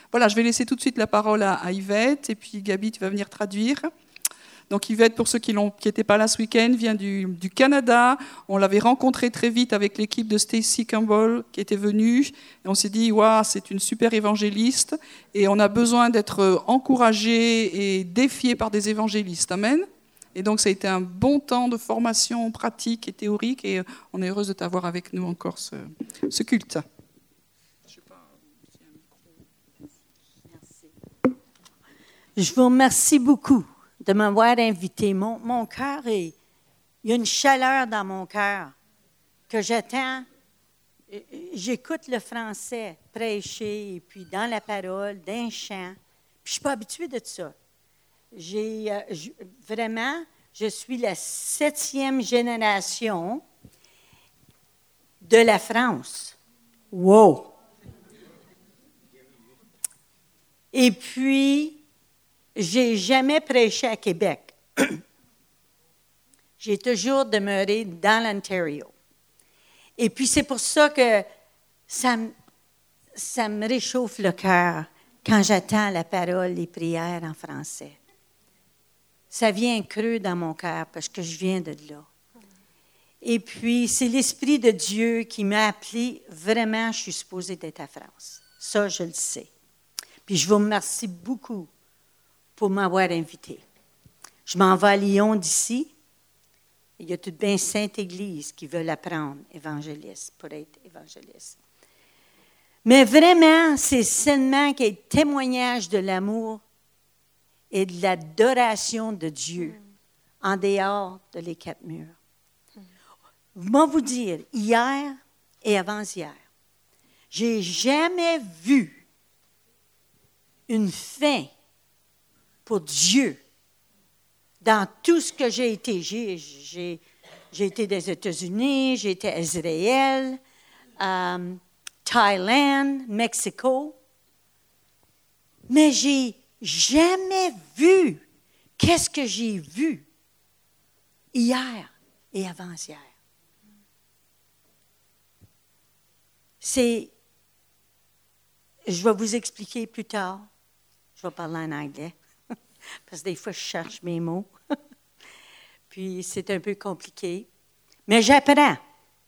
Voilà, je vais laisser tout de suite la parole à Yvette, et puis Gabi, tu vas venir traduire. Donc Yvette, pour ceux qui n'étaient pas là ce week-end, vient du Canada. On l'avait rencontrée très vite avec l'équipe de Stacy Campbell qui était venue. Et on s'est dit, waouh, c'est une super évangéliste. Et on a besoin d'être encouragés et défiés par des évangélistes. Amen. Et donc ça a été un bon temps de formation pratique et théorique. Et on est heureuse de t'avoir avec nous encore ce culte. Je vous remercie beaucoup de m'avoir invité. Mon cœur il y a une chaleur dans mon cœur que j'attends. J'écoute le français prêcher, et puis dans la parole, d'un chant. Puis je ne suis pas habituée de ça. Vraiment, je suis la 7e génération de la France. Wow! Et puis, j'ai jamais prêché à Québec. J'ai toujours demeuré dans l'Ontario. Et puis, c'est pour ça que ça me réchauffe le cœur quand j'attends la parole, les prières en français. Ça vient creux dans mon cœur parce que je viens de là. Et puis, c'est l'Esprit de Dieu qui m'a appelé. Vraiment, je suis supposée d'être à France. Ça, je le sais. Puis, je vous remercie beaucoup pour m'avoir invité. Je m'en vais à Lyon d'ici. Il y a toute bien Sainte-Église qui veut apprendre évangéliste, pour être évangéliste. Mais vraiment, c'est seulement qu'il y ait témoignage de l'amour et de l'adoration de Dieu en dehors de les 4 murs. Je vais vous dire, hier et avant-hier, j'ai jamais vu une fin pour Dieu dans tout ce que j'ai été. J'ai été des États-Unis, j'ai été à Israël, Thaïlande, Mexico. Mais j'ai jamais vu qu'est-ce que j'ai vu hier et avant-hier. Je vais vous expliquer plus tard. Je vais parler en anglais. Parce que des fois, je cherche mes mots. Puis, c'est un peu compliqué. Mais j'apprends.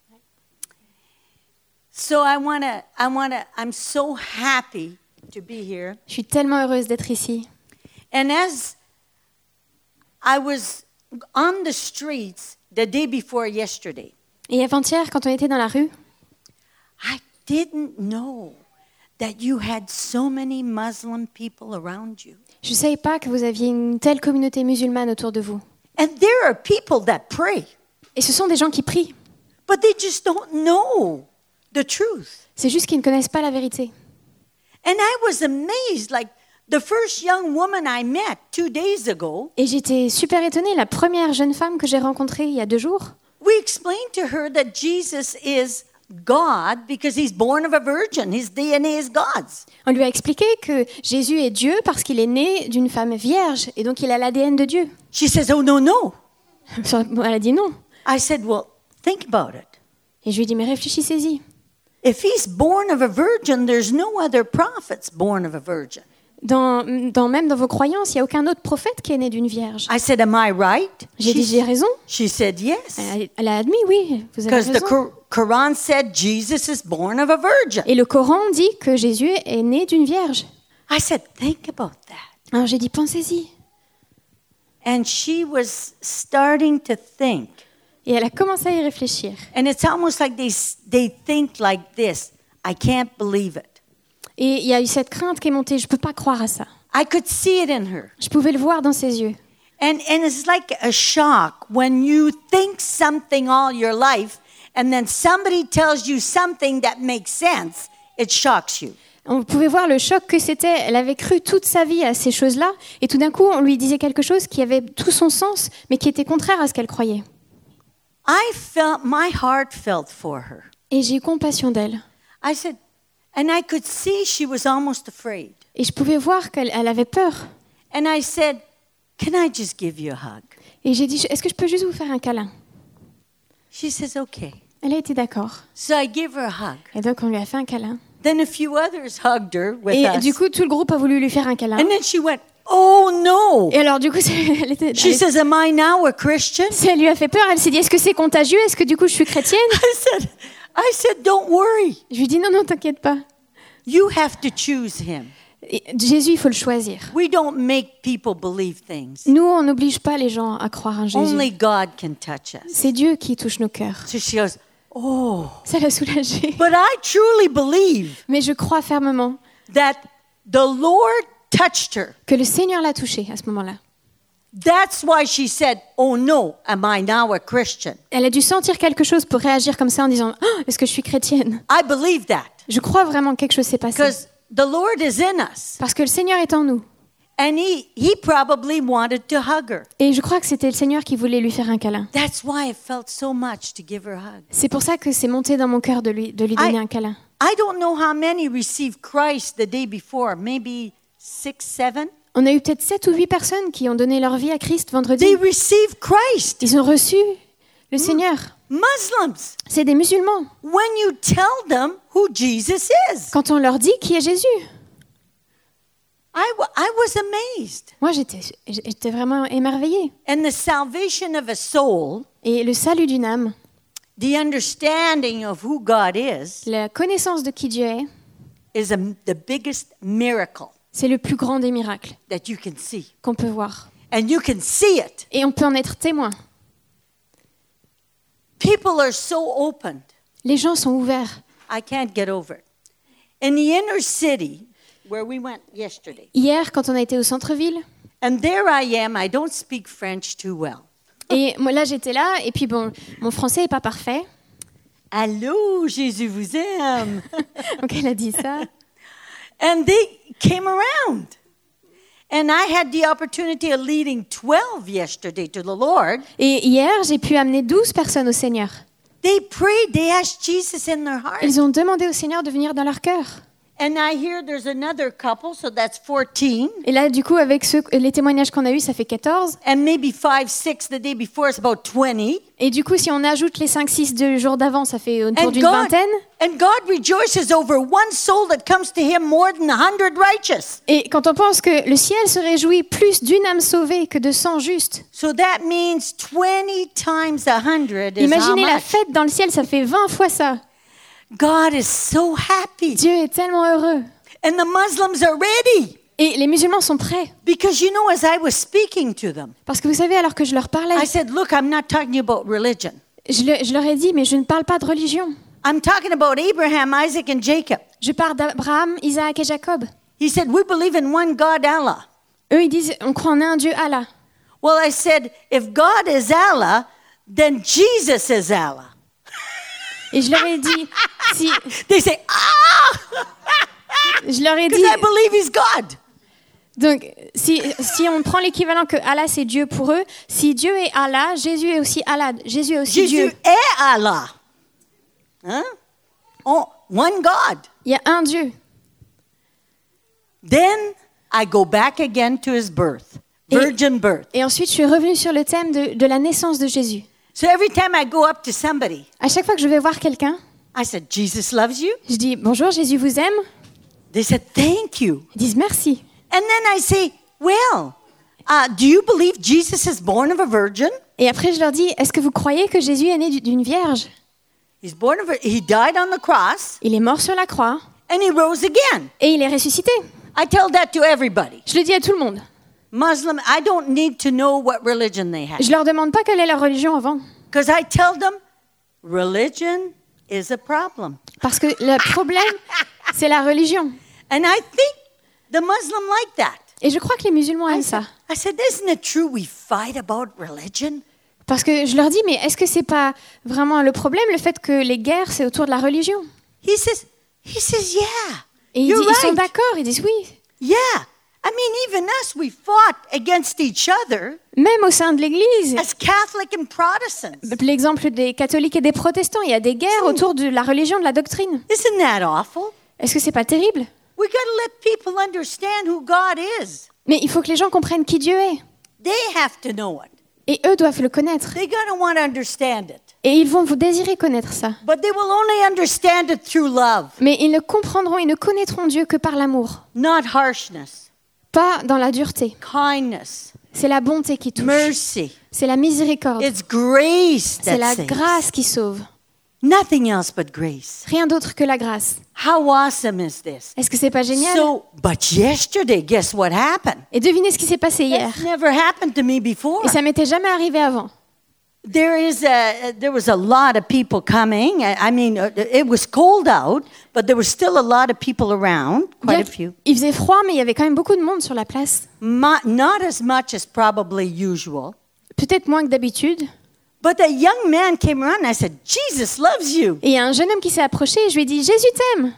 So, I'm so happy to be here. Je suis tellement heureuse d'être ici. And as I was on the streets the day before yesterday, Et avant-hier, quand on était dans la rue, I didn't know that you had so many Muslim people around you. je ne savais pas que vous aviez une telle communauté musulmane autour de vous. And there are people that pray, Et ce sont des gens qui prient. but they just don't know the truth. C'est juste qu'ils ne connaissent pas la vérité. And I was amazed, like the first young woman I met 2 days ago, Et j'étais super étonnée. La première jeune femme que j'ai rencontrée il y a 2 jours, we explained to her that Jesus is God because he's born of a virgin. His DNA is God's. on lui a expliqué que Jésus est Dieu parce qu'il est né d'une femme vierge et donc il a l'ADN de Dieu. She says, oh, no. Elle a dit non. I said, well, think about it. Et je lui ai dit, mais réfléchissez-y. If he's born of a virgin, there's no other prophets born of a virgin. Même dans vos croyances, il n'y a aucun autre prophète qui est né d'une vierge. I said, am I right? J'ai dit, j'ai raison. She said, yes. Elle a admis, oui, vous avez Because the raison. Quran said Jesus is born of a virgin. Et le Coran dit que Jésus est né d'une vierge. I said, think about that. Alors j'ai dit, pensez-y. And she was starting to think. Et elle a commencé à y réfléchir. And it's almost like they think like this. I can't believe it. Et il y a eu cette crainte qui est montée, je ne peux pas croire à ça. I could see it in her. Je pouvais le voir dans ses yeux. And it's like a shock when you think something all your life and then somebody tells you something that makes sense, it shocks you. On pouvait voir le choc que c'était. Elle avait cru toute sa vie à ces choses-là, et tout d'un coup, on lui disait quelque chose qui avait tout son sens, mais qui était contraire à ce qu'elle croyait. My heart felt for her. Et j'ai eu compassion d'elle. I said, and I could see she was almost afraid. Et je pouvais voir qu'elle avait peur. And I said, can I just give you a hug? Et j'ai dit, est-ce que je peux juste vous faire un câlin? She says, okay. Elle a été d'accord. So I give her a hug. Et donc, on lui a fait un câlin. Then a few others hugged her with Et us. du coup, tout le groupe a voulu lui faire un câlin. And then she went, oh no. Et alors, du coup, She says, am I now a Christian? ça lui a fait peur. Elle s'est dit, est-ce que c'est contagieux? Est-ce que du coup, je suis chrétienne? I said, don't worry. Je lui dis, non, t'inquiète pas. You have to choose him. Et Jésus, il faut le choisir. We don't make people believe things. Nous, on n'oblige pas les gens à croire en Jésus. Only God can touch us. C'est Dieu qui touche nos cœurs. So she goes, oh. Ça l'a soulagée. But I truly believe Mais je crois fermement that the Lord touched her. que le Seigneur l'a touchée à ce moment-là. That's why she said, oh no, am I now a Christian? Elle a dû sentir quelque chose pour réagir comme ça en disant oh, est-ce que je suis chrétienne? I believe that. Je crois vraiment que quelque chose s'est passé. Because the Lord is in us. Parce que le Seigneur est en nous. And he probably wanted to hug her. Et je crois que c'était le Seigneur qui voulait lui faire un câlin. That's why it felt so much to give her a hug. C'est pour ça que c'est monté dans mon cœur de lui donner un câlin. I don't know how many received Christ the day before, maybe 6, 7. On a eu peut-être 7 ou 8 personnes qui ont donné leur vie à Christ vendredi. They received Christ. Ils ont reçu le Seigneur. Muslims. C'est des musulmans. When you tell them who Jesus is. Quand on leur dit qui est Jésus. I was amazed. Moi, j'étais vraiment émerveillée. And the salvation of a soul, Et le salut d'une âme, the understanding of who God is la connaissance de qui Dieu est, the biggest miracle c'est le plus grand des miracles that you can see. qu'on peut voir. And you can see it. Et on peut en être témoin. People are so opened. Les gens sont ouverts. I can't get over it. In the inner city, where we went yesterday, Hier, quand on a été au centre-ville, and there I am, I don't speak French too well. et moi là j'étais là, et puis bon, mon français n'est pas parfait. Allô, Jésus vous aime. Donc elle a dit ça. And they came around. And I had the opportunity of leading 12 yesterday to the Lord. Et hier, j'ai pu amener 12 personnes au Seigneur. They prayed, they asked Jesus in their heart. Ils ont demandé au Seigneur de venir dans leur cœur. And I hear there's another couple, so that's 14. Et là, du coup, avec les témoignages qu'on a eus, ça fait 14. And maybe 5, 6 the day before, it's about 20. Et du coup, si on ajoute les 5-6 du jour d'avant, ça fait autour d'une vingtaine. And God rejoices over one soul that comes to him more than 100 righteous. Et quand on pense que le ciel se réjouit plus d'une âme sauvée que de 100 justes, So that means 20 times 100 is how imaginez la much? fête dans le ciel, ça fait 20 fois ça. God is so happy. Dieu est tellement heureux. And the Muslims are ready. Et les musulmans sont prêts. Because you know, as I was speaking to them, Parce que vous savez, alors que je leur parlais, I said, look, I'm not talking about religion. je leur ai dit, mais je ne parle pas de religion. I'm talking about Abraham, Isaac, and Jacob. Je parle d'Abraham, Isaac et Jacob. He said, we believe in one God, Allah. Eux, ils disent, on croit en un Dieu, Allah. Well, I said, if God is Allah, then Jesus is Allah. Et je leur ai dit, si, They say, je leur ai because dit, I believe he's God. donc, si on prend l'équivalent que Allah c'est Dieu pour eux, si Dieu est Allah, Jésus est aussi Allah, Jésus est aussi Jesus Dieu. est Allah. Huh? Oh, one God. Il y a un Dieu. Then I go back again to his birth, virgin birth. Et ensuite, je suis revenue sur le thème de la naissance de Jésus. So every time I go up to somebody, À chaque fois que je vais voir quelqu'un, I said, Jesus loves you. je dis bonjour, Jésus vous aime. They said, thank you. Ils disent merci. And then I say, well, do you believe Jesus is born of a virgin? Et après, je leur dis, est-ce que vous croyez que Jésus est né d'une vierge? He died on the cross Il est mort sur la croix and he rose again. et il est ressuscité. I tell that to everybody. Je le dis à tout le monde. Muslim, I don't need to know what religion they have. Je leur demande pas quelle est leur religion avant. Because I tell them, religion is a problem. Parce que le problème, c'est la religion. And I think the Muslim like that. Et je crois que les musulmans aiment ça. I said, isn't it true we fight about religion? Parce que je leur dis, mais est-ce que c'est pas vraiment le problème, le fait que les guerres, c'est autour de la religion? He says, yeah. Et ils sont d'accord, ils disent oui. Yeah. I mean, even us, we fought against each other Même au sein de l'Église, as Catholic and Protestants. l'exemple des catholiques et des protestants, il y a des guerres autour de la religion, de la doctrine. Isn't that awful? Est-ce que c'est pas terrible? We got to let people understand who God is. Mais il faut que les gens comprennent qui Dieu est. They have to know it. Et eux doivent le connaître. They got to want to understand it. Et ils vont vous désirer connaître ça. But they will only understand it through love, Mais ils ne comprendront, ils ne connaîtront Dieu que par l'amour, not harshness, pas dans la dureté. kindness, C'est la bonté qui touche. mercy. C'est la miséricorde. It's grace C'est that la saves. grâce qui sauve. Nothing else but grace. Rien d'autre que la grâce. How awesome is this? Est-ce que c'est pas génial? But yesterday, guess what happened? Et devinez ce qui s'est passé hier. That's never happened to me before. Et ça m'était jamais arrivé avant. There was a lot of people coming. I mean, it was cold out, but there was still a lot of people around, quite a few. Il faisait froid, mais il y avait quand même beaucoup de monde sur la place. Not as much as probably usual. Peut-être moins que d'habitude. But a young man came around and I said, Jesus loves you. Et il y a un jeune homme qui s'est approché et je lui ai dit, Jésus t'aime.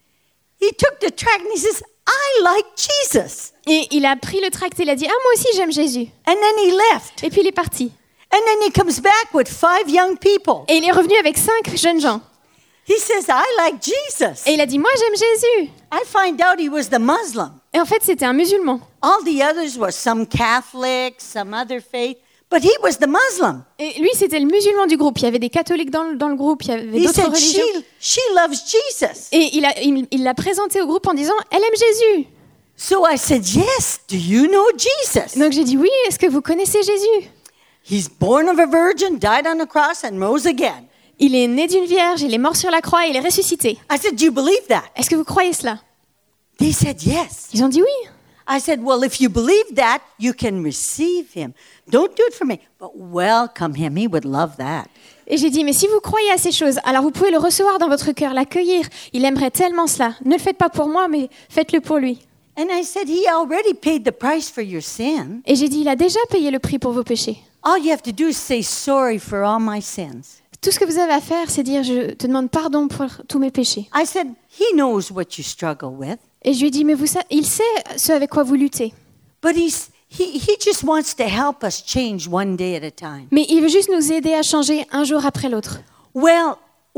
He took the tract and he says, I like Jesus. Et il a pris le tract et il a dit, ah moi aussi j'aime Jésus. And then he left. Et puis il est parti. And then he comes back with 5 young people. Et il est revenu avec 5 jeunes gens. He says, I like Jesus. Et il a dit, moi j'aime Jésus. I find out he was the Muslim. Et en fait c'était un musulman. All the others were some Catholic, some other faith, but he was the Muslim. Et lui c'était le musulman du groupe. Il y avait des catholiques dans le groupe, il y avait He d'autres said, religions. she loves Jesus. Et il l'a présenté au groupe en disant, elle aime Jésus. So I said, yes, do you know Jesus? Donc j'ai dit, oui, est-ce que vous connaissez Jésus? He's born of a virgin, died on the cross, and rose again. Il est né d'une vierge, il est mort sur la croix et il est ressuscité. I said, do you believe that? Est-ce que vous croyez cela? They said, yes. Ils ont dit oui. I said, well, if you believe that, you can receive him. Don't do it for me, but welcome him. He would love that. Et j'ai dit, mais si vous croyez à ces choses, alors vous pouvez le recevoir dans votre cœur, l'accueillir. Il aimerait tellement cela. Ne le faites pas pour moi, mais faites-le pour lui. And I said, he already paid the price for your sin. Et j'ai dit, il a déjà payé le prix pour vos péchés. All you have to do is say sorry for all my sins. Tout ce que vous avez à faire, c'est dire, je te demande pardon pour tous mes péchés. I said, he knows what you struggle with, Et je lui ai dit, mais il sait ce avec quoi vous luttez. but he just wants to help us change one day at a time. Mais il veut juste nous aider à changer un jour après l'autre. Well,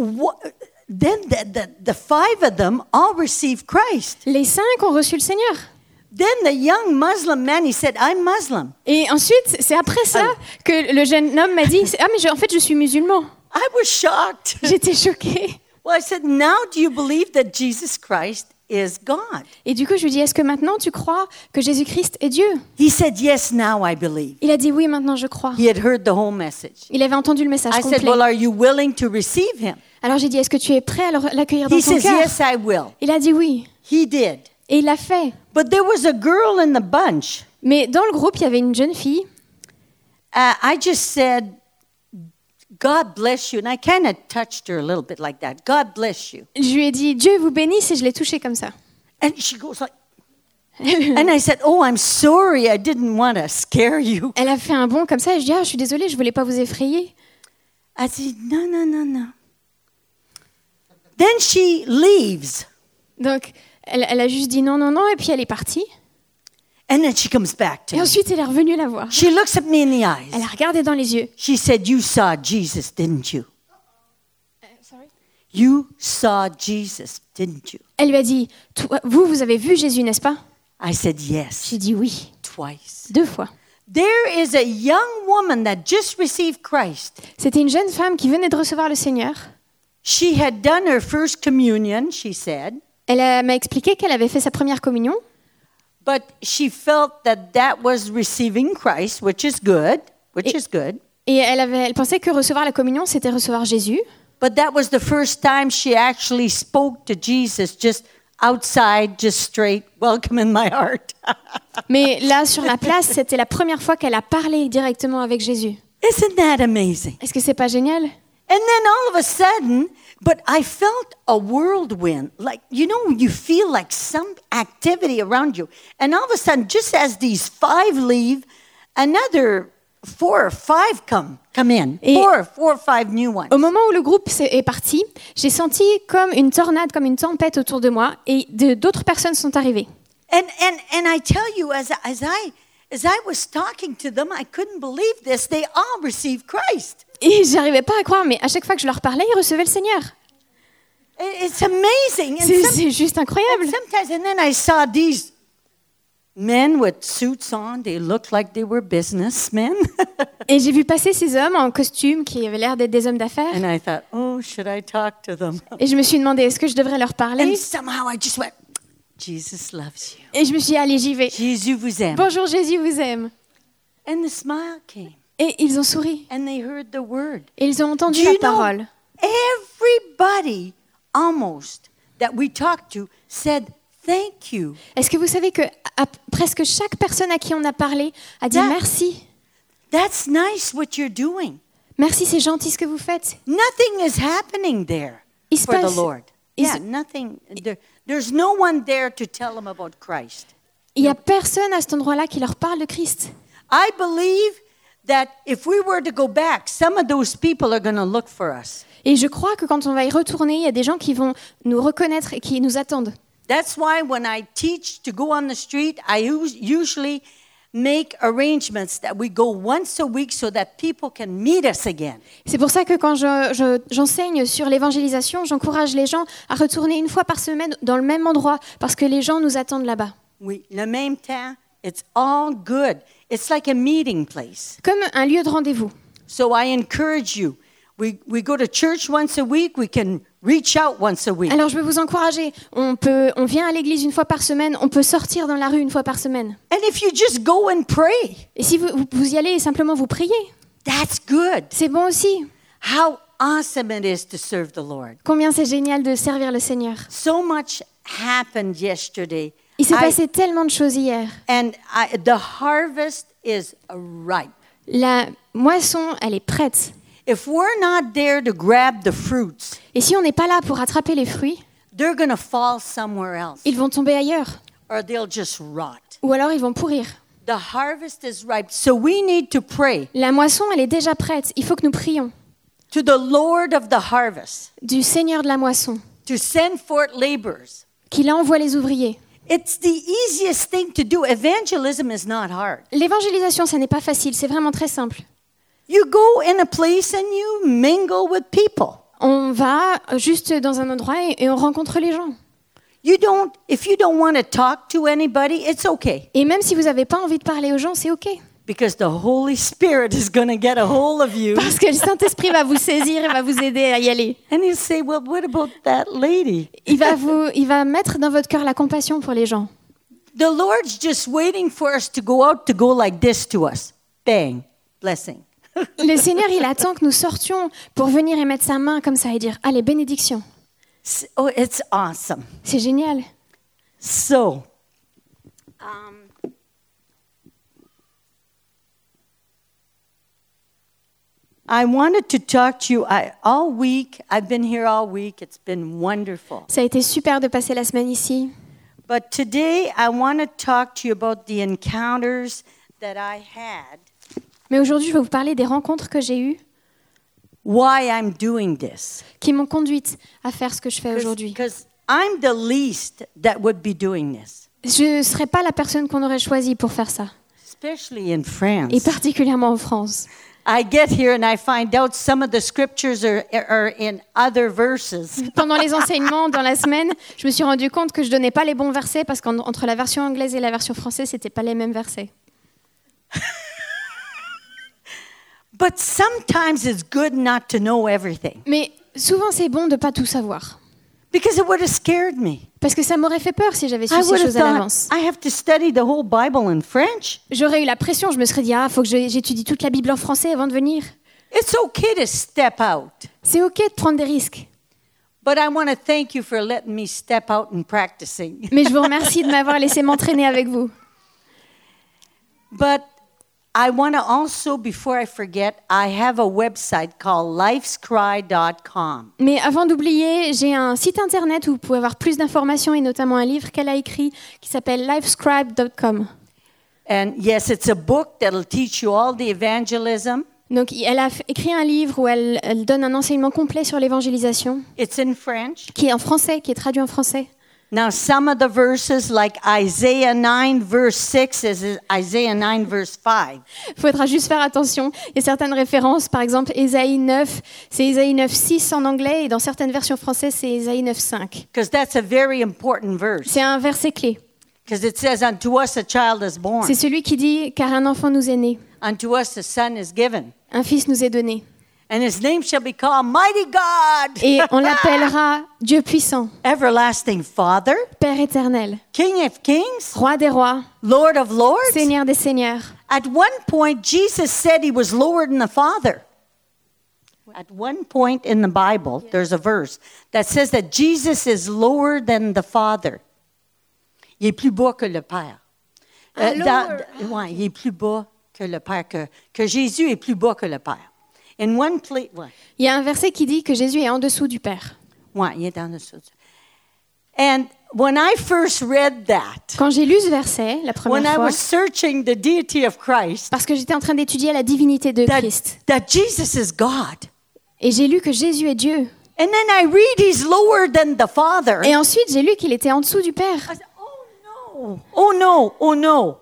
then the 5 of them all received Christ. Les 5 ont reçu le Seigneur. Then the young Muslim man, he said, I'm Muslim. Et ensuite, c'est après ça que le jeune homme m'a dit, ah mais en fait je suis musulman. I was shocked. J'étais choquée. Well, I said, now do you believe that Jesus Christ is God? Et du coup, je lui dis, est-ce que maintenant tu crois que Jésus-Christ est Dieu? He said, yes, now I believe. Il a dit, oui, maintenant je crois. He had heard the whole message. Il avait entendu le message I said, complet. well, are you willing to receive him? Alors j'ai dit, est-ce que tu es prêt à l'accueillir dans He ton says, cœur? yes, I will. Il a dit oui. He did. Et il l'a fait. But there was a girl in the bunch. Mais dans le groupe, il y avait une jeune fille. I just said, God bless you. And I kind of touched her a little bit like that. God bless you. Je lui ai dit, Dieu vous bénisse, et je l'ai touchée comme ça. And she goes like, and I said, oh, I'm sorry. I didn't want to scare you. Elle a fait un bond comme ça, et je dis, ah, je suis désolée, je voulais pas vous effrayer. I said, no. Then she leaves. Donc, elle a juste dit non, et puis elle est partie. And then she comes back to Et me. ensuite, elle est revenue la voir. She looks at me in the eyes. Elle a regardé dans les yeux. She said, you saw Jesus, didn't you? You saw Jesus, didn't you? Elle lui a dit, vous avez vu Jésus, n'est-ce pas? I said, yes, J'ai dit oui, twice. 2 fois. There is a young woman that just received Christ. C'était une jeune femme qui venait de recevoir le Seigneur. She had done her first communion, she said, Elle m'a expliqué qu'elle avait fait sa première communion. but she felt that was receiving Christ, which is good. Et elle pensait que recevoir la communion, c'était recevoir Jésus. But that was the first time she actually spoke to Jesus, just outside, just straight, welcome in my heart. Mais là, sur la place, c'était la première fois qu'elle a parlé directement avec Jésus. Isn't that amazing? Est-ce que c'est pas génial? And then all of a sudden, but I felt a whirlwind, like, you know, you feel like some activity around you. And all of a sudden, just as these 5 leave, another 4 or 5 come in. Et- 4 or 5 new ones. Au moment où le groupe est parti, j'ai senti comme une tornade, comme une tempête autour de moi, et d'autres personnes sont arrivées. And I tell you, as I was talking to them, I couldn't believe this. They all received Christ. Et j'arrivais pas à croire, mais à chaque fois que je leur parlais, ils recevaient le Seigneur. It's amazing. And C'est juste incroyable. sometimes, and then I saw these men with suits on. They looked like they were businessmen. Et j'ai vu passer ces hommes en costume qui avaient l'air d'être des hommes d'affaires. And I thought, oh, should I talk to them? Et je me suis demandé, est-ce que je devrais leur And parler? somehow I just went, Jesus loves you. Et je me suis dit, allez, j'y vais. Jésus vous aime. Bonjour, Jésus vous aime. And the smile came. Et ils ont souri. And they heard the word. Et ils ont entendu Do la you know, parole. everybody almost that we talked to said, thank you. Est-ce que vous savez que presque chaque personne à qui on a parlé a dit merci? That's nice what you're doing. Merci, c'est gentil ce que vous faites. Nothing is happening there Il se for the passe- Lord. il Yeah, se- nothing. There's no one there to tell them about Christ. Il n'y a personne à cet endroit-là qui leur parle de Christ. I believe that if we were to go back, some of those people are going to look for us. Et je crois que quand on va y retourner, il y a des gens qui vont nous reconnaître et qui nous attendent. That's why when I teach to go on the street, I usually make arrangements that we go once a week so that people can meet us again. C'est pour ça que quand j'enseigne sur l'évangélisation, j'encourage les gens à retourner une fois par semaine dans le même endroit parce que les gens nous attendent là-bas. Oui, le même temps, it's all good. It's like a meeting place. Comme un lieu de rendez-vous. So I encourage you. We go to church once a week. We can reach out once a week. Alors je veux vous encourager. On vient à l'église une fois par semaine, on peut sortir dans la rue une fois par semaine. And if you just go and pray, Et si vous y allez et simplement vous priez, that's good. c'est bon aussi. How awesome it is to serve the Lord. Combien c'est génial de servir le Seigneur. So much happened yesterday. Il s'est passé tellement de choses hier. The harvest is ripe. La moisson, elle est prête. If we're not there to grab the fruits, Et si on n'est pas là pour attraper les fruits, they're going to fall somewhere else, ils vont tomber ailleurs. or they'll just rot. Ou alors ils vont pourrir. The harvest is ripe, so we need to pray La moisson, elle est déjà prête. Il faut que nous prions to the Lord of the harvest du Seigneur de la moisson, to send forth laborers. qu'il envoie les ouvriers. It's the easiest thing to do. Evangelism is not hard. L'évangélisation, ça n'est pas facile, c'est vraiment très simple. You go in a place and you mingle with people. On va juste dans un endroit et on rencontre les gens. If you don't want to talk to anybody, it's okay. Et même si vous n'avez pas envie de parler aux gens, c'est OK. Because the Holy Spirit is going to get a hold of you. Parce que le Saint-Esprit va vous saisir et va vous aider à y aller. And he'll say, well, what about that lady? Il va mettre dans votre cœur la compassion pour les gens. The Lord's just waiting for us to go out to go like this to us. Bang. Blessing. Le Seigneur, il attend que nous sortions pour venir et mettre sa main comme ça et dire « Allez, bénédiction Oh, it's awesome. ». C'est génial. So, I wanted to talk to you all week. I've been here all week. It's been wonderful. Ça a été super de passer la semaine ici. But today I want to talk to you about the encounters that I had. Mais aujourd'hui, je vais vous parler des rencontres que j'ai eues Why I'm doing this. qui m'ont conduite à faire ce que je fais aujourd'hui. Because I'm the least that would be doing this. Je ne serais pas la personne qu'on aurait choisie pour faire ça, Especially in France. et particulièrement en France. I get here and I find out some of the scriptures are in other verses. Pendant les enseignements dans la semaine, je me suis rendu compte que je donnais pas les bons versets parce qu'entre la version anglaise et la version française, c'était pas les mêmes versets. But sometimes it's good not to know everything. Mais souvent, c'est bon de pas tout savoir. Because it would have scared me. Parce que ça m'aurait fait peur si j'avais su I ces would have choses à thought, l'avance. I have to study the whole Bible in French. J'aurais eu la pression, je me serais dit, faut que j'étudie toute la Bible en français avant de venir. It's okay to step out. C'est OK de prendre des risques. But I want to thank you for letting me step out and practicing. Mais je vous remercie de m'avoir laissé m'entraîner avec vous. But I want to also, before I forget, I have a website called lifescry.com. Mais avant d'oublier, j'ai un site internet où vous pouvez avoir plus d'informations et notamment un livre qu'elle a écrit qui s'appelle livescribe.com. And yes, it's a book that'll teach you all the evangelism. Donc, elle a écrit un livre où elle donne un enseignement complet sur l'évangélisation, It's in French. qui est en français, qui est traduit en français. Now, some of the verses, like Isaiah 9, verse 6, is Isaiah 9, verse 5. Il faudra juste faire attention. Il y a certaines références, par exemple, Ésaïe 9, c'est Ésaïe 9, 6 en anglais, et dans certaines versions françaises, c'est Ésaïe 9, 5. Because that's a very important verse. C'est un verset clé. Because it says, unto us a child is born. C'est celui qui dit, car un enfant nous est né, Unto us a son is given. un fils nous est donné. And his name shall be called Mighty God. Et on l'appellera Dieu puissant, Everlasting Father. Père éternel, King of kings. Roi des rois, Lord of lords. Seigneur des seigneurs. At one point, Jesus said he was lower than the Father. At one point in the Bible, there's a verse that says that Jesus is lower than the Father. Il est plus bas que le Père. Ouais, il est plus bas que le Père, que Jésus est plus bas que le Père. In one place, ouais. Il y a un verset qui dit que Jésus est en dessous du Père. Ouais, il est en dessous. And when I first read that, Quand j'ai lu ce verset la when première I fois, was searching the deity of Christ, parce que j'étais en train d'étudier la divinité de Christ, that Jesus is God. et j'ai lu que Jésus est Dieu. And then I read he's lower than the Father. Et ensuite, j'ai lu qu'il était en dessous du Père. I said, oh no, oh no, oh no.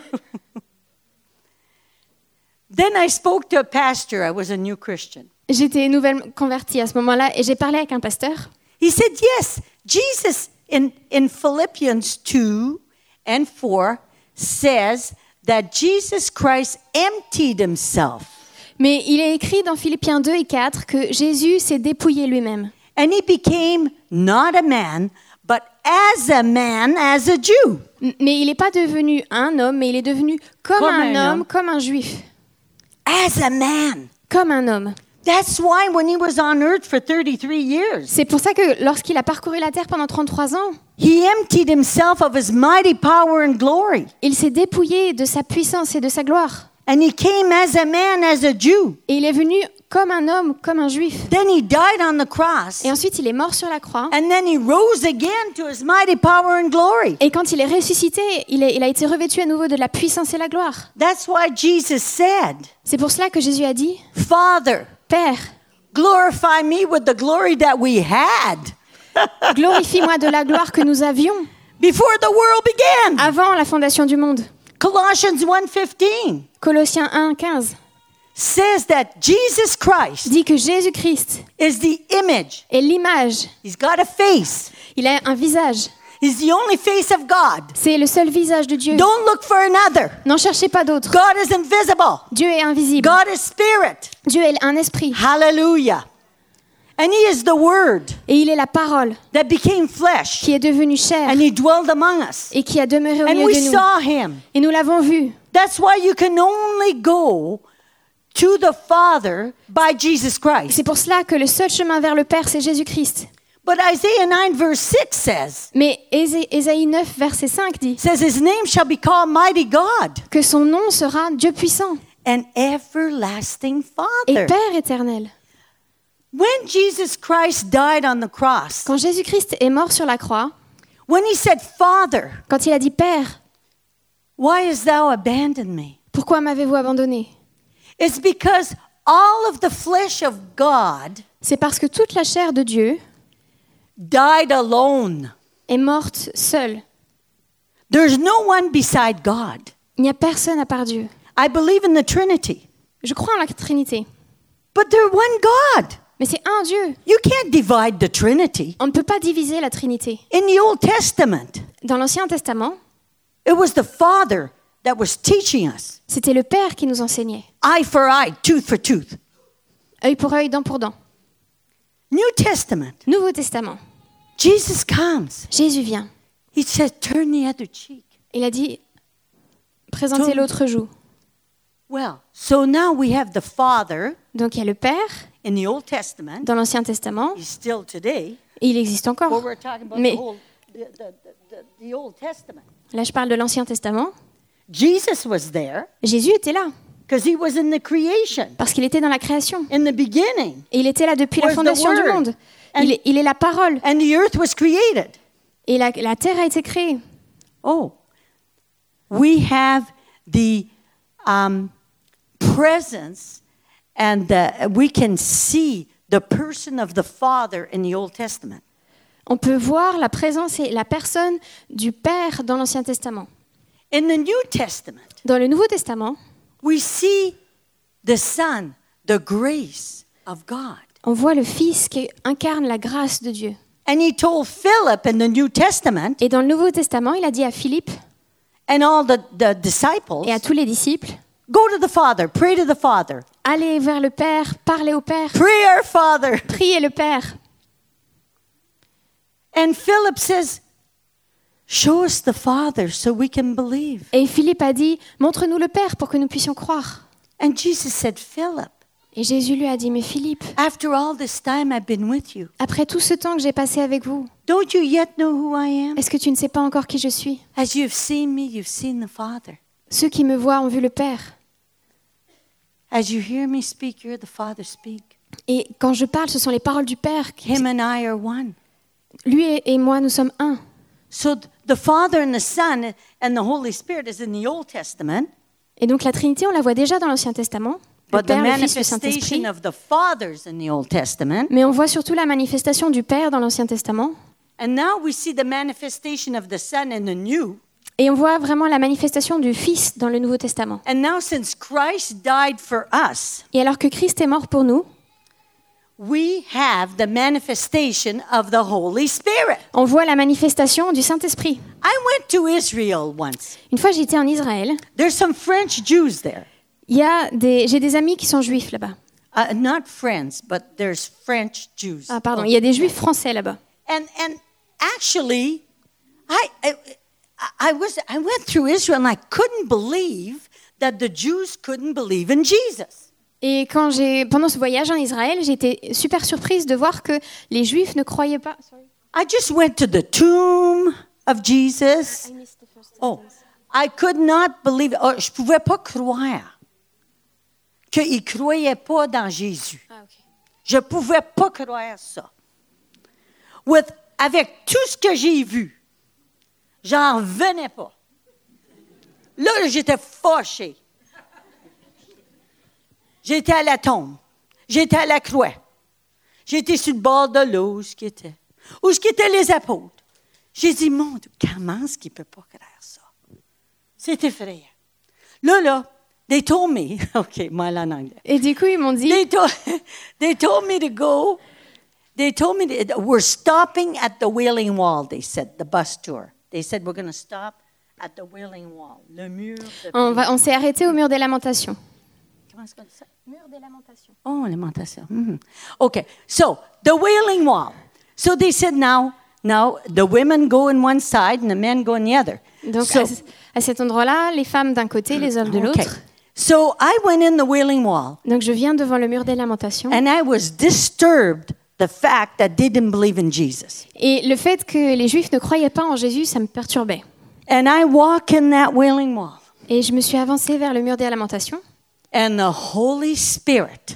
Then I spoke to a pastor. I was a new Christian. J'étais nouvellement convertie à ce moment-là et j'ai parlé avec un pasteur. He said, yes, Jesus in Philippians 2 and 4 says that Jesus Christ emptied himself. Mais il est écrit dans Philippiens 2 et 4 que Jésus s'est dépouillé lui-même. And he became not a man, but as a man, as a Jew. Mais il n'est pas devenu un homme, mais il est devenu comme un homme, comme un juif. As a man. Comme un homme. That's why when he was on earth for 33 years, C'est pour ça que lorsqu'il a parcouru la terre pendant 33 ans, he emptied himself of his mighty power and glory. il s'est dépouillé de sa puissance et de sa gloire. And he came as a man, as a Jew. Et il est venu comme un homme, comme un juif. Then he died on the cross. Et ensuite, il est mort sur la croix. And then he rose again to his mighty power and glory. Et quand il est ressuscité, il a été revêtu à nouveau de la puissance et la gloire. That's why Jesus said, C'est pour cela que Jésus a dit, Father, Père, glorify me with the glory that we had glorifie-moi de la gloire que nous avions before the world began. avant la fondation du monde. Colossians 1:15 Colossiens 1, 15 says that Jesus Christ dit que Jésus-Christ is the image. est l'image. He's got a face. Il a un visage. He's the only face of God. C'est le seul visage de Dieu. Don't look for another. N'en cherchez pas d'autre. God is invisible. Dieu est invisible. God is spirit. Dieu est un esprit. Hallelujah. And he is the word Et il est la parole that became flesh. qui est devenue chair And he dwelled among us. et qui a demeuré au And milieu we de nous. saw him. Et nous l'avons vu. That's why you can only go to the Father by Jesus Christ. C'est pour cela que le seul chemin vers le Père, c'est Jésus-Christ. But Isaiah 9 verse 6 says, Mais Ésaïe 9, verset 5 dit says his name shall be called Mighty God que son nom sera Dieu puissant and everlasting et Father. Père éternel. When Jesus Christ died on the cross, Quand Jésus-Christ est mort sur la croix, when he said, Father, quand il a dit Père, why hast thou abandoned me? pourquoi m'avez-vous abandonné? It's because all of the flesh of God C'est parce que toute la chair de Dieu died alone. est morte seule. There's no one beside God. Il n'y a personne à part Dieu. I believe in the Trinity, Je crois en la Trinité, but they're one God. mais c'est un Dieu. You can't divide the Trinity. On ne peut pas diviser la Trinité. In the Old Testament, Dans l'Ancien Testament, it was the Father that was teaching us. c'était le Père qui nous enseignait. Eye for eye, tooth for tooth. Œil pour œil, dent pour dent. New Testament, Nouveau Testament, Jesus comes. Jésus vient. He said, turn the other cheek. Il a dit, présentez l'autre joue. Well, so now we have the Father Donc il y a le Père in the Old Testament. dans l'Ancien Testament, He's still today. et il existe But encore. we're talking about Mais the Old Testament. là, je parle de l'Ancien Testament. Jesus was there Jésus était là, because he was in the creation, parce qu'il était dans la création. in the beginning. Et il était là depuis la Was the fondation du Word. monde. And- Il est la parole. And the earth was created. Et la terre a été créée. Oh, we have the presence, and we can see the person of the Father in the Old Testament. On peut voir la présence et la personne du Père dans l'Ancien Testament. In the New Testament, Dans le Nouveau Testament, we see the Son, the grace of God. on voit le Fils qui incarne la grâce de Dieu. And he told Philip in the New Testament Et dans le Nouveau Testament, il a dit à Philippe and all the disciples, et à tous les disciples, go to the Father, pray to the Father. allez vers le Père, parlez au Père, Pray our Father. priez le Père. And Philip says, show us the Father so we can believe. Et Philippe a dit, montre-nous le Père pour que nous puissions croire. And Jesus said, Philip, Et Jésus lui a dit, mais Philippe, after all this time I've been with you, après tout ce temps que j'ai passé avec vous, don't you yet know who I am? est-ce que tu ne sais pas encore qui je suis? As you've seen me, you've seen the Father. Ceux qui me voient ont vu le Père. As you hear me speak, you're the Father speak. Et quand je parle, ce sont les paroles du Père. Him and I are one. Lui et moi, nous sommes un. So the Father and the Son and the Holy Spirit is in the Old Testament, Et donc la Trinité, on la voit déjà dans l'Ancien Testament. Le but the Père, le Fils, le Saint-Esprit. manifestation of the Father's in the Old Testament. Mais on voit surtout la manifestation du Père dans l'Ancien Testament. And now we see the manifestation of the Son in the New. Et on voit vraiment la manifestation du Fils dans le Nouveau Testament. And now since Christ died for us, Et alors que Christ est mort pour nous, we have the manifestation of the Holy Spirit. on voit la manifestation du Saint-Esprit. I went to Israel once. Une fois, j'étais en Israël. There's some French Jews there. J'ai des amis qui sont juifs là-bas. Not friends, but there's French Jews. Ah, pardon, il y a des juifs français là-bas. And actually, I went through Israel and I couldn't believe that the Jews couldn't believe in Jesus. Et pendant ce voyage en Israël, j'étais super surprise de voir que les juifs ne croyaient pas. I just went to the tomb of Jesus. Oh, I could not believe. Oh, je pouvais pas croire qu'ils ne croyaient pas dans Jésus. Je ne pouvais pas croire ça. Avec tout ce que j'ai vu, j'en revenais pas. Là, j'étais fâchée. J'étais à la tombe. J'étais à la croix. J'étais sur le bord de l'eau, où étaient les apôtres. J'ai dit, mon Dieu, comment est-ce qu'il ne peut pas croire ça? C'est effrayant. Là, they told me, OK, moi là en anglais. Et du coup, ils m'ont dit, They told me to go. They told me we're stopping at the Wailing Wall, they said, the bus tour. They said, we're going to stop at the Wailing Wall, le mur de on s'est arrêté au mur des lamentations. Comment est-ce qu'on dit ça? Mur des lamentations. Oh, lamentation. Mm-hmm. Okay, so the Wailing Wall. So they said now the women go in one side and the men go in the other. Donc à cet endroit-là, les femmes d'un côté, les hommes de l'autre. Okay. So I went in the Wailing Wall. Donc je viens devant le mur des lamentations. And I was disturbed the fact that they didn't believe in Jesus. Et le fait que les Juifs ne croyaient pas en Jésus, ça me perturbait. And I walk in that Wailing Wall. Et je me suis avancée vers le mur des lamentations. And the Holy Spirit,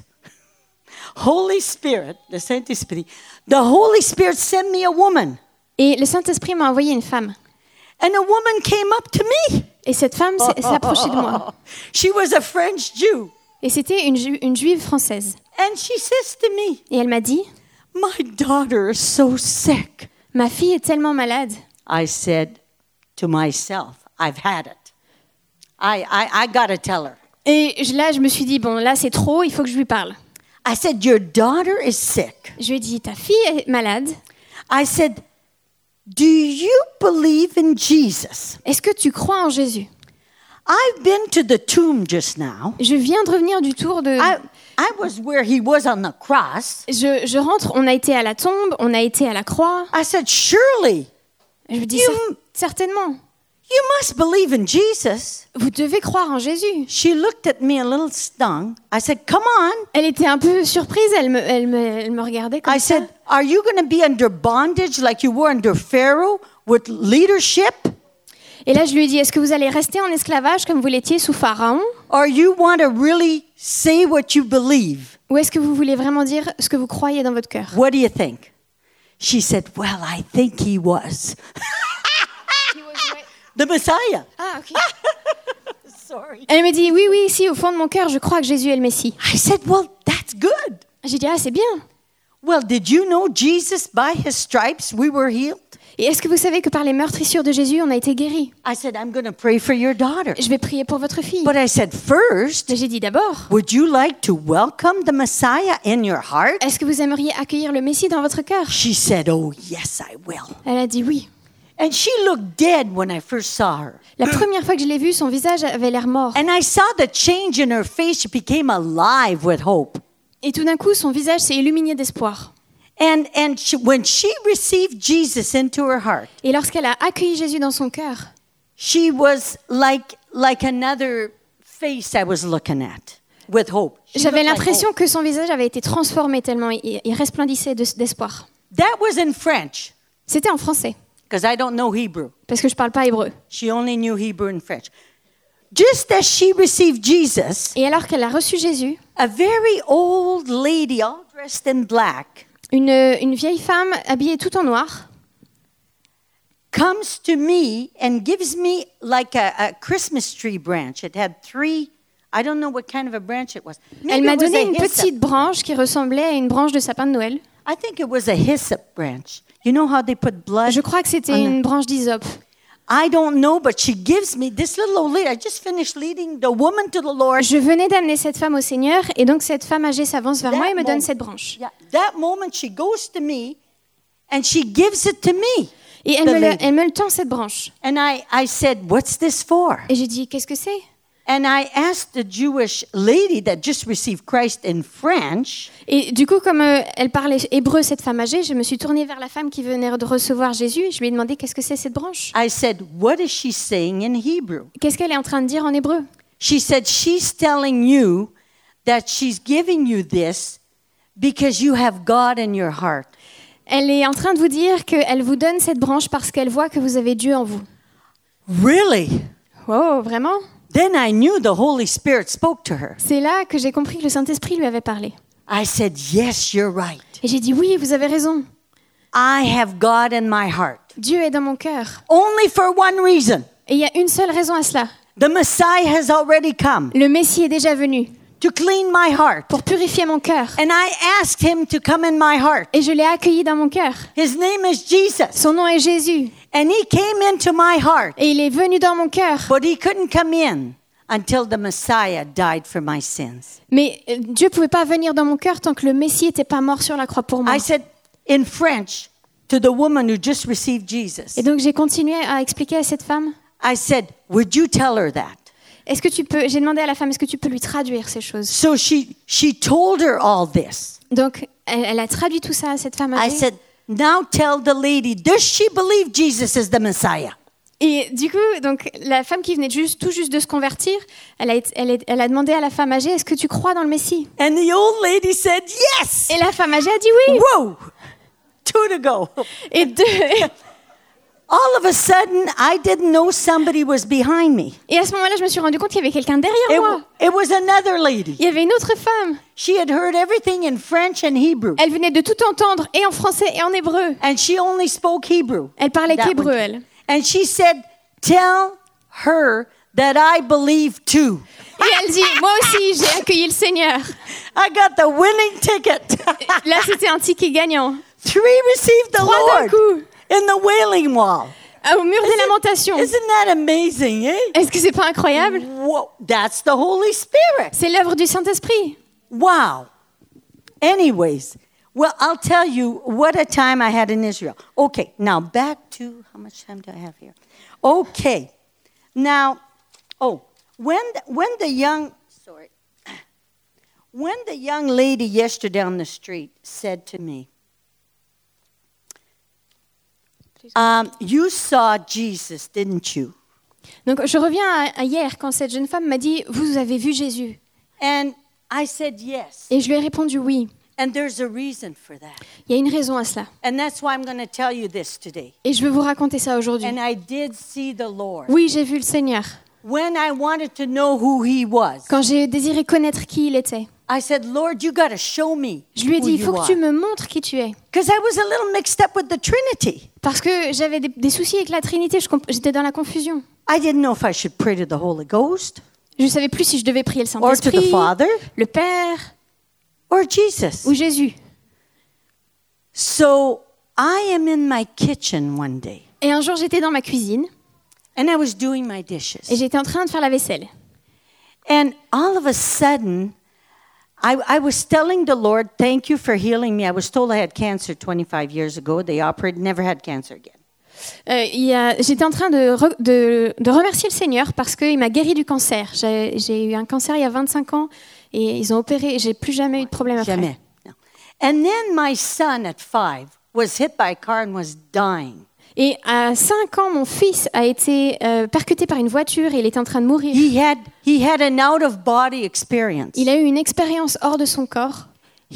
le Saint-Esprit, the Holy Spirit sent me a woman. Et le Saint-Esprit m'a envoyé une femme. And a woman came up to me. Et cette femme s'est approchée de moi. She was a French Jew. Et c'était une juive française. And she says to me, Et elle m'a dit, my daughter is so sick. ma fille est tellement malade. I said to myself, I've had it. I got to tell her. Et là, je me suis dit, bon, là, c'est trop, il faut que je lui parle. I said, your daughter is sick. Je lui ai dit, ta fille est malade. I said, do you believe in Jesus? Est-ce que tu crois en Jésus? I've been to the tomb just now. Je viens de revenir du tour de... I was where he was on the cross. Je rentre, on a été à la tombe, on a été à la croix. I said, surely. Je lui dis, certainement. You must believe in Jesus. Vous devez croire en Jésus. She looked at me a little stung. I said, come on. Elle était un peu surprise, elle me regardait comme ça. I said, are you going to be under bondage like you were under Pharaoh with leadership? Et là, je lui ai dit, est-ce que vous allez rester en esclavage comme vous l'étiez sous Pharaon? Or you want to really say what you believe? Ou est-ce que vous voulez vraiment dire ce que vous croyez dans votre cœur? What do you think? She said, well, I think he was. The Messiah. Ah, ok. Sorry. Elle me dit, oui, si, au fond de mon cœur, je crois que Jésus est le Messie. I said, well, that's good. J'ai dit, ah, c'est bien. Well, did you know Jesus, by his stripes, we were healed? Et est-ce que vous savez que par les meurtrissures de Jésus, on a été guéris? I said, I'm going to pray for your daughter. Je vais prier pour votre fille. But I said, first, Mais j'ai dit d'abord, would you like to welcome the Messiah in your heart? est-ce que vous aimeriez accueillir le Messie dans votre cœur? She said, oh, yes, I will. Elle a dit oui. And she looked dead when I first saw her. La première fois que je l'ai vue, son visage avait l'air mort. And I saw the change in her face. She became alive with hope. Et tout d'un coup, son visage s'est illuminé d'espoir. And when she received Jesus into her heart, Et lorsqu'elle a accueilli Jésus dans son cœur, she was like another face I was looking at with hope. She j'avais looked like l'impression hope. que son visage avait été transformé tellement il resplendissait d'espoir. That was in French, C'était en français, because I don't know Hebrew. parce que je ne parle pas hébreu. She only knew Hebrew and French. Just as she received Jesus, Et alors qu'elle a reçu Jésus, a very old lady, all dressed in black, une vieille femme habillée tout en noir comes to me and gives me like a Christmas tree branch. It had 3, I don't know what kind of a branch it was. Maybe Elle m'a it was donné a une hyssop. petite branche qui ressemblait à une branche de sapin de Noël. I think it was a hyssop branch. You know how they put blood? Je crois que c'était on the- une branche d'hysope. I don't know, but she gives me this little old lady. I just finished leading the woman to the Lord. Je venais d'amener cette femme au Seigneur et donc cette femme âgée s'avance vers moi et me donne cette branche. Yeah, that moment she goes to me and she gives it to me. Et elle me le tend cette branche. And I said, what's this for? Et j'ai dit, qu'est-ce que c'est? And I asked the Jewish lady that just received Christ in French, Et du coup, comme elle parlait hébreu, cette femme âgée, je me suis tournée vers la femme qui venait de recevoir Jésus. Je lui ai demandé, qu'est-ce que c'est cette branche? I said, what is she saying in Hebrew? Qu'est-ce qu'elle est en train de dire en hébreu? She said, she's telling you that she's giving you this because you have God in your heart. Elle est en train de vous dire qu'elle vous donne cette branche parce qu'elle voit que vous avez Dieu en vous. Really? Oh, vraiment? Then I knew the Holy Spirit spoke to her. C'est là que j'ai compris que le Saint-Esprit lui avait parlé. I said, yes, you're right. Et j'ai dit, oui, vous avez raison. I have God in my heart. Dieu est dans mon cœur. Only for one reason. Et il y a une seule raison à cela. The Messiah has already come Le Messie est déjà venu to clean my heart. pour purifier mon cœur. And I asked him to come in my heart. Et je l'ai accueilli dans mon cœur. His name is Jesus. Son nom est Jésus. And he came into my heart. Et il est venu dans mon cœur. But he couldn't come in until the Messiah died for my sins. Mais Dieu ne pouvait pas venir dans mon cœur tant que le Messie n'était pas mort sur la croix pour moi. I said in French to the woman who just received Jesus, Et donc j'ai continué à expliquer à cette femme. I said, would you tell her that? Est-ce que tu peux? J'ai demandé à la femme, est-ce que tu peux lui traduire ces choses? So she told her all this. Donc elle a traduit tout ça à cette femme I âgée. said, now tell the lady, does she believe Jesus is the Messiah? Et du coup, donc la femme qui venait tout juste de se convertir, elle a demandé à la femme âgée, est-ce que tu crois dans le Messie? And the old lady said, yes. Et la femme âgée a dit oui. Whoa, 2 to go. Et All of a sudden, I didn't know somebody was behind me. Et à ce moment-là, je me suis rendu compte qu'il y avait quelqu'un derrière moi. It was another lady. Il y avait une autre femme. She had heard everything in French and Hebrew. Elle venait de tout entendre, et en français et en hébreu. And she only spoke Hebrew. Elle parlait That qu'hébreu, one. elle. And she said, tell her that I believe too. Et elle dit, moi aussi, j'ai accueilli le Seigneur. I got the winning ticket. Là, c'était un ticket gagnant. 3 received the 3 d'un Lord coup, in the Wailing Wall. au mur des lamentations. Isn't that amazing, eh? Est-ce que c'est pas incroyable? Whoa, that's the Holy Spirit. C'est l'œuvre du Saint-Esprit. Wow. Anyways, well, I'll tell you what a time I had in Israel. Okay, now back to, how much time do I have here? Okay. Now, when the young lady yesterday on the street said to me, you saw Jesus, didn't you? Donc, je reviens à hier, quand cette jeune femme m'a dit, vous avez vu Jésus? And I said yes. Et je lui ai répondu oui. And there's a reason for that. Il y a une raison à cela. And that's why I'm going to tell you this today. Et je veux vous raconter ça aujourd'hui. And I did see the Lord. Oui, j'ai vu le Seigneur. When I wanted to know who he was, Quand j'ai désiré connaître qui il était, I said, Lord, you got to show me je lui ai who dit, il you faut que are. tu me montres qui tu es. Because I was a little mixed up with the Trinity. Parce que j'avais des soucis avec la Trinité, j'étais dans la confusion. I didn't know if I should pray to the Holy Ghost Je ne savais plus si je devais prier le or to the Saint-Esprit, Father le Père or Jesus. ou Jésus. So I am in my kitchen one day, Et un jour, j'étais dans ma cuisine and I was doing my et dishes. j'étais en train de faire la vaisselle. And all of a sudden, I was telling the Lord, thank you for healing me. I was told I had cancer 25 years ago. They operated, never had cancer again. J'étais en train de remercier le Seigneur parce qu'il m'a guéri du cancer. J'ai eu un cancer il y a 25 ans et ils ont opéré et j'ai plus jamais eu de problème après. Jamais. No. And then my son at 5 was hit by a car and was dying. Et à 5 ans, mon fils a été percuté par une voiture et il était en train de mourir. He had an out-of-body experience. Il a eu une expérience hors de son corps.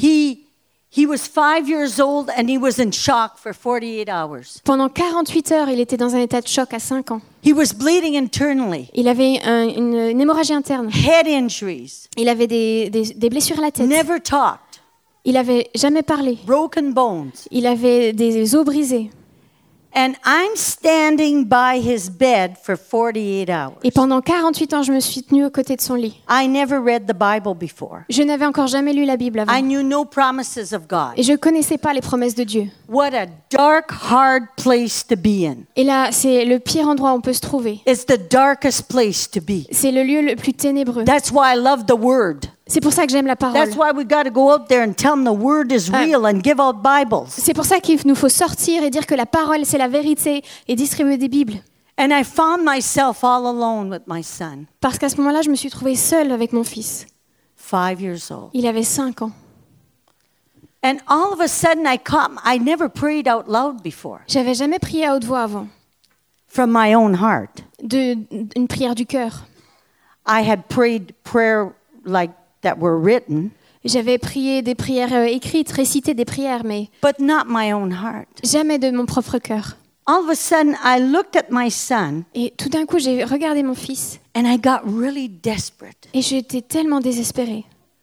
He was 5 years old and he was in shock for 48 hours. Pendant 48 heures, il était dans un état de choc à 5 ans. He was bleeding internally. Il avait une hémorragie interne. Head injuries. Il avait des blessures à la tête. Never talked. Il n'avait jamais parlé. Broken bones. Il avait des os brisés. And I'm standing by his bed for 48 hours. Et pendant 48 ans, je me suis tenue aux côtés de son lit. I never read the Bible before. Je n'avais encore jamais lu la Bible avant. I knew no promises of God. Et je ne connaissais pas les promesses de Dieu. What a dark, hard place to be in. Et là, c'est le pire endroit où on peut se trouver. It's the darkest place to be. C'est le lieu le plus ténébreux. That's why I love the Word. C'est pour ça que j'aime la parole. That's why we got to go out there and tell them the Word is real and give out Bibles. C'est pour ça qu'il nous faut sortir et dire que la parole, c'est la vérité et distribuer des Bibles. And I found myself all alone with my son, Parce qu'à ce moment-là, je me suis trouvée seule avec mon fils. 5 years old. Il avait 5 ans. And all of a sudden I never prayed out loud before J'avais jamais prié à haute voix avant, from my own heart. une prière du cœur. I had prayed prayer like that were written, J'avais prié des prières écrites, récité des prières, mais but not my own heart. jamais de mon propre cœur. All of a sudden, I looked at my son Et tout d'un coup, j'ai regardé mon fils and I got really desperate. et j'étais tellement désespérée.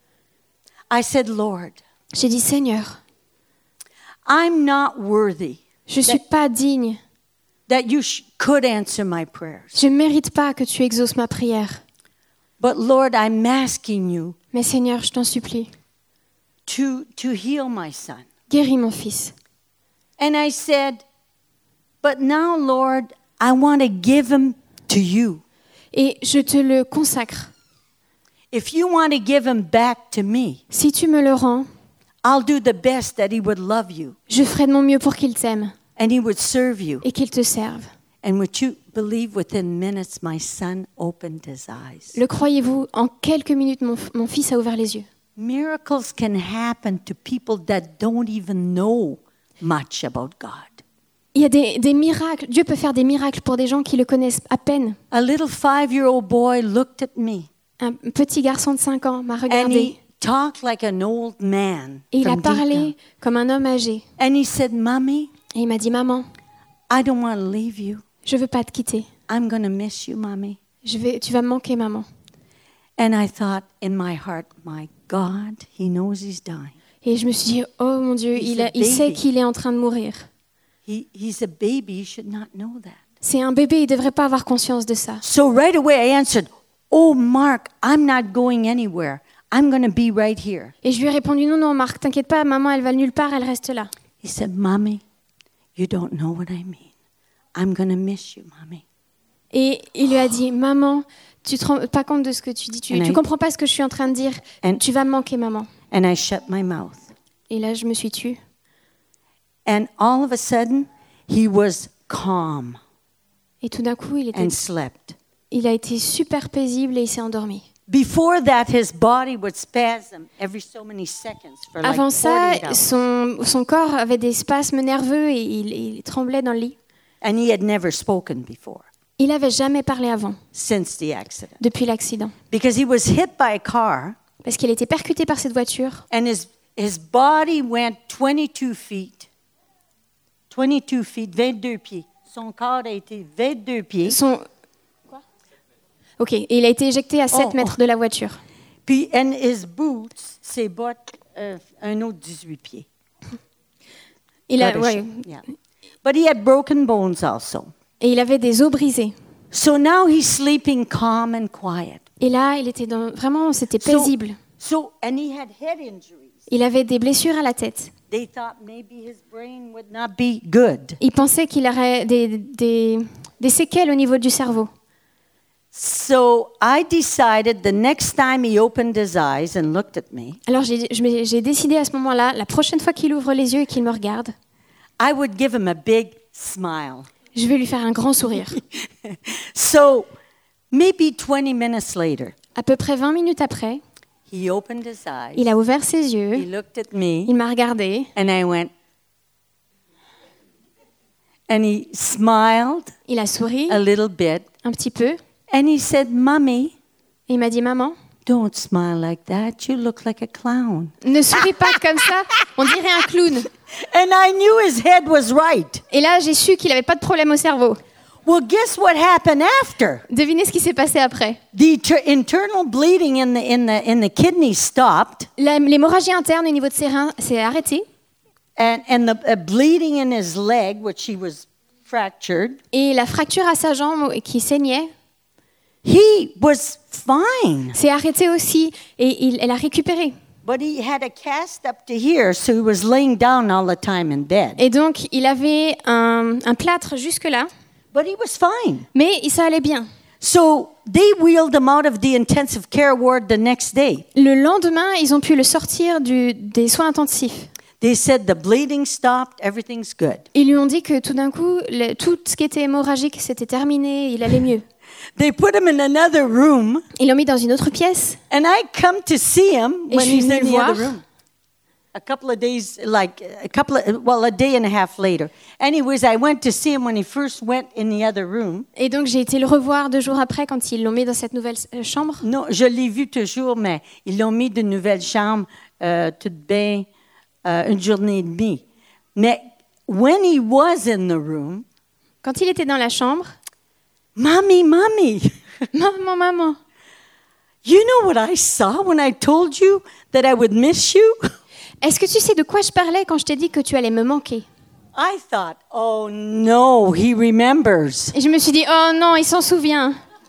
I said, Lord, J'ai dit, Seigneur, I'm not worthy je ne suis pas digne. that you could answer my prayers. Je ne mérite pas que tu exauces ma prière. But Lord, I'm asking you Mais Seigneur, je t'en supplie, to heal my son. guéris mon fils. And I said, but now, Lord, I want to give him to you. Et je te le consacre. If you want to give him back to me, Si tu me le rends, I'll do the best that he would love you je ferai de mon mieux pour qu'il t'aime and he would serve you. et qu'il te serve. And would you believe within minutes my son opened his eyes? Le croyez-vous, en quelques minutes, mon fils a ouvert les yeux. Miracles can happen to people that don't even know much about God. Il y a des miracles. Dieu peut faire des miracles pour des gens qui le connaissent à peine. A little 5-year-old boy looked at me Un petit garçon de 5 ans m'a and regardé he talked like an old man. et il a from deep down. parlé comme un homme âgé. And he said, Mommy, Et il m'a dit, maman, I don't want to leave you. je veux pas te quitter. I'm going to miss you, Mommy. Tu vas me manquer, maman. And I thought in my heart, my God, he knows he's dying. Et je me suis dit, oh mon Dieu, il sait qu'il est en train de mourir. He's a baby, he should not know that. C'est un bébé, il ne devrait pas avoir conscience de ça. So right away I answered, oh, Mark, I'm not going anywhere. I'm going to be right here. Et je lui ai répondu, non, Marc, t'inquiète pas, maman, elle va nulle part, elle reste là. He said, Mommy, you don't know what I mean. I'm going to miss you, Mommy. Et il lui a dit, maman, tu te rends pas compte de ce que tu dis, tu comprends pas ce que je suis en train de dire, tu vas me manquer, maman. And I shut my mouth. Et là, je me suis tue. And all of a sudden, he was calm Et tout d'un coup, and slept. il a été super paisible et il s'est endormi. Before that, his body would spasm every so many seconds for like Avant ça, 48 hours. son corps avait des spasmes nerveux et il tremblait dans le lit. And he had never spoken before Il n'avait jamais parlé avant, since the accident. depuis l'accident. Because he was hit by a car Parce qu'il a été percuté par cette voiture. and his body went 22 feet. 22 feet, 22 pieds. Son corps a été 22 pieds. Ok, et il a été éjecté à 7 mètres de la voiture. Puis, and his boots, ses bottes, un autre 18 pieds. Ouais. Yeah. But he had broken bones also. Et il avait des os brisés. So now he's sleeping calm and quiet. Et là, il était vraiment, c'était paisible. And he had head injuries. Il avait des blessures à la tête. They thought maybe his brain would not be good. Il pensait qu'il aurait des séquelles au niveau du cerveau. So I decided the next time he opened his eyes and looked at me, Alors j'ai décidé à ce moment-là, la prochaine fois qu'il ouvre les yeux et qu'il me regarde, I would give him a big smile. je vais lui faire un grand sourire. So maybe 20 minutes later, À peu près 20 minutes après, he opened his eyes. il a ouvert ses He yeux, looked at me il m'a regardé, and I went, and he smiled il a souri a little bit un petit peu and he said, "Mommy, et il m'a dit « Maman, don't smile like that. You look like a clown." ne souris pas comme ça, on dirait un clown. » And I knew his head was right. Et là, j'ai su qu'il n'avait pas de problème au cerveau. Well, guess what happened after? Devinez ce qui s'est passé après. The internal bleeding in the kidney stopped, L'hémorragie interne au niveau de ses reins s'est arrêtée and the bleeding in his leg, which he was fractured, et la fracture à sa jambe qui saignait he was fine. s'est arrêtée aussi et elle a récupéré. But he had a cast up to here, so he was laying down all the time in bed. Et donc, il avait un plâtre jusque-là, But he was fine. mais ça allait bien. So they wheeled him out of the intensive care ward the next day. Le lendemain, ils ont pu le sortir des soins intensifs. They said the bleeding stopped, everything's good. Ils lui ont dit que tout d'un coup, tout ce qui était hémorragique, c'était terminé, il allait mieux. They put him in another room, Ils l'ont mis dans une autre pièce. and I come to see him Et when je suis he's venue in le the voir. other room. A day and a half later. Anyways, I went to see him when he first went in the other room. Et donc, j'ai été le revoir 2 jours après quand ils l'ont mis dans cette nouvelle chambre. Non, je l'ai vu toujours, mais ils l'ont mis d'une nouvelle chambre toute bien une journée et demie. Mais when he was in the room, Quand il était dans la chambre, Mommy, maman, maman, you know what I saw when I told you that I would miss you? est-ce que tu sais de quoi je parlais quand je t'ai dit que tu allais me manquer? I thought, oh no, he remembers. Et je me suis dit, oh non, il s'en souvient.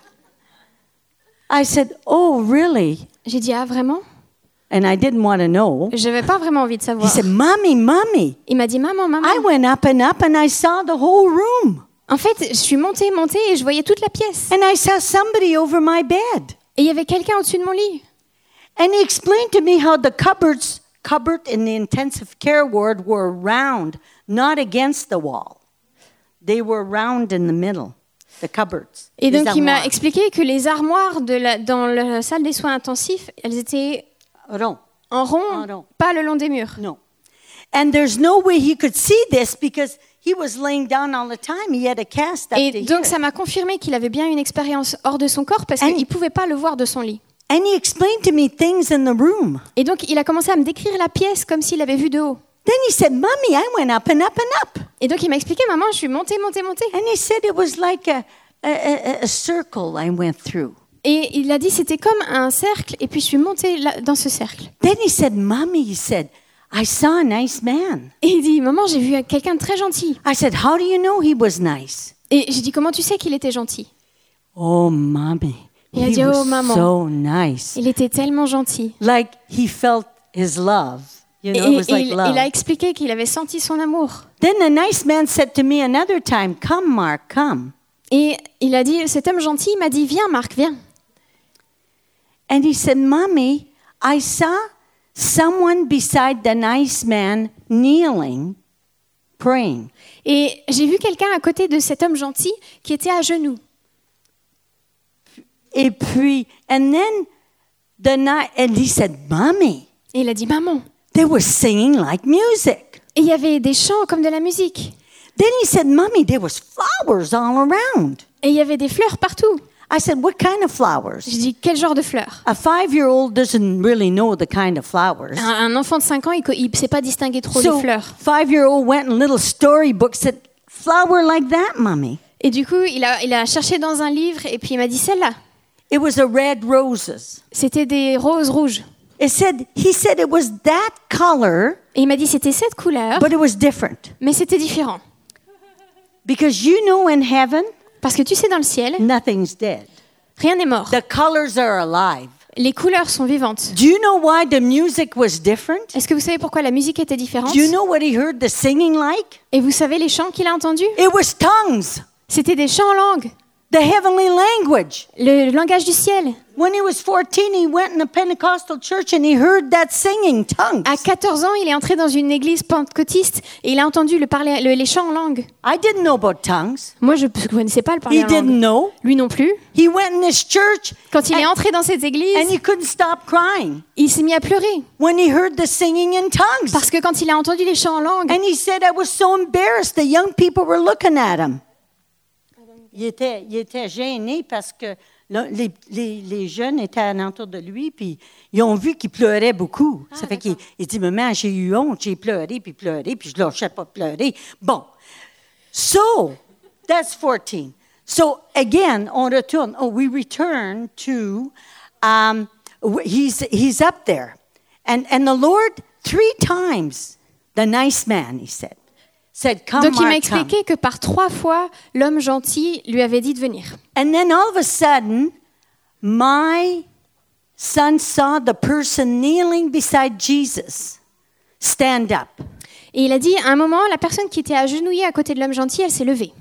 I said, oh really? J'ai dit, ah vraiment? And I didn't want to know. Je n'avais pas vraiment envie de He savoir. said, Mommy. Il m'a dit, maman, maman. I went up and I saw the whole room. En fait, je suis montée et je voyais toute la pièce. And I saw somebody over my bed. Et il y avait quelqu'un au-dessus de mon lit. And he explained to me how the cupboard in the intensive care ward were round, not against the wall. They were round in the middle, the cupboards. Et donc, les il m'a armoires. expliqué que les armoires dans la salle des soins intensifs, elles étaient Rond. en rond, En rond. pas le long des murs. No. And there's no way he could see this because he was laying down all the time. He had a cast up to Et donc, here. ça m'a confirmé qu'il avait bien une expérience hors de son corps parce And- qu'il ne pouvait pas le voir de son lit. And he explained to me things in the room. Et donc, il a commencé à me décrire la pièce comme s'il l'avait vue de haut. Then he said, Mommy, I went up and up and up. Et donc, il m'a expliqué, maman, je suis montée. And he said it was like a circle I went through. Et il a dit, c'était comme un cercle, et puis je suis montée dans ce cercle. Then he said, Mommy, he said, I saw a nice man. Et il dit, maman, j'ai vu quelqu'un de très gentil. I said, how do you know he was nice? Et j'ai dit, comment tu sais qu'il était gentil? Oh, Mommy, Il a he dit, oh, was maman. so nice. Il était tellement gentil. Like he felt his love. You Et, know, it was like il love. a expliqué qu'il avait senti son amour. Then the nice man said to me another time, come, Mark, come. Et il a dit, cet homme gentil m'a dit, viens Marc, viens. And he said, Mommy, I saw someone beside the nice man kneeling, praying. Et j'ai vu quelqu'un à côté de cet homme gentil qui était à genoux. Et puis, and he said, Mommy, Et il a dit, maman. they were singing like music. Et il y avait des chants comme de la musique. Then he said, Mommy, there was flowers all around. Et il y avait des fleurs partout. I said, what kind of flowers? J'ai dit, quel genre de fleurs? A 5-year-old doesn't really know the kind of flowers. Un enfant de 5 ans, il ne sait pas distinguer trop les So, fleurs. 5-year-old went in little storybook, said, flower like that, Mommy. Et du coup, il a cherché dans un livre et puis il m'a dit, celle-là, It was a red roses. c'était des roses rouges. He said it was that color, Et il m'a dit, c'était cette couleur, but it was different. mais c'était différent. Because you know in heaven, Parce que tu sais, dans le ciel, nothing's dead. rien n'est mort. The colors are alive. Les couleurs sont vivantes. Do you know why the music was different? Est-ce que vous savez pourquoi la musique était différente? Do you know what he heard the singing like? Et vous savez les chants qu'il a entendus? It was tongues, C'était des chants en langue, the heavenly language. le langage du ciel. When he was 14, he went in a Pentecostal church and he heard that singing tongues. À 14 ans, il est entré dans une église pentecôtiste et il a entendu les chants en langue. I didn't know about tongues. Moi, je ne connaissais pas le parler He en didn't langue. know. Lui non plus. He went in this church Quand il est and, entré dans cette and église, he couldn't stop crying il s'est mis à pleurer. when he heard the singing in tongues. Parce que quand il a entendu les chants en langue, And he said, I was so embarrassed. The young people were looking at him. Il était gêné parce que les jeunes étaient alentour de lui, puis ils ont vu qu'il pleurait beaucoup. Ça fait qu'il dit, maman, j'ai eu honte, j'ai pleuré, puis je ne lâchais pas de pleurer. Bon. So, that's 14. So, again, on retourne. Oh, we return to, he's up there. And the Lord, 3 times, the nice man, he said, come, donc il m'a Mark, come. expliqué que par 3 fois, l'homme gentil lui avait dit de venir. And then all of a sudden, my son saw the person kneeling beside Jesus stand up. Et il a dit, à un moment, la personne qui était agenouillée à côté de l'homme gentil, elle s'est levée.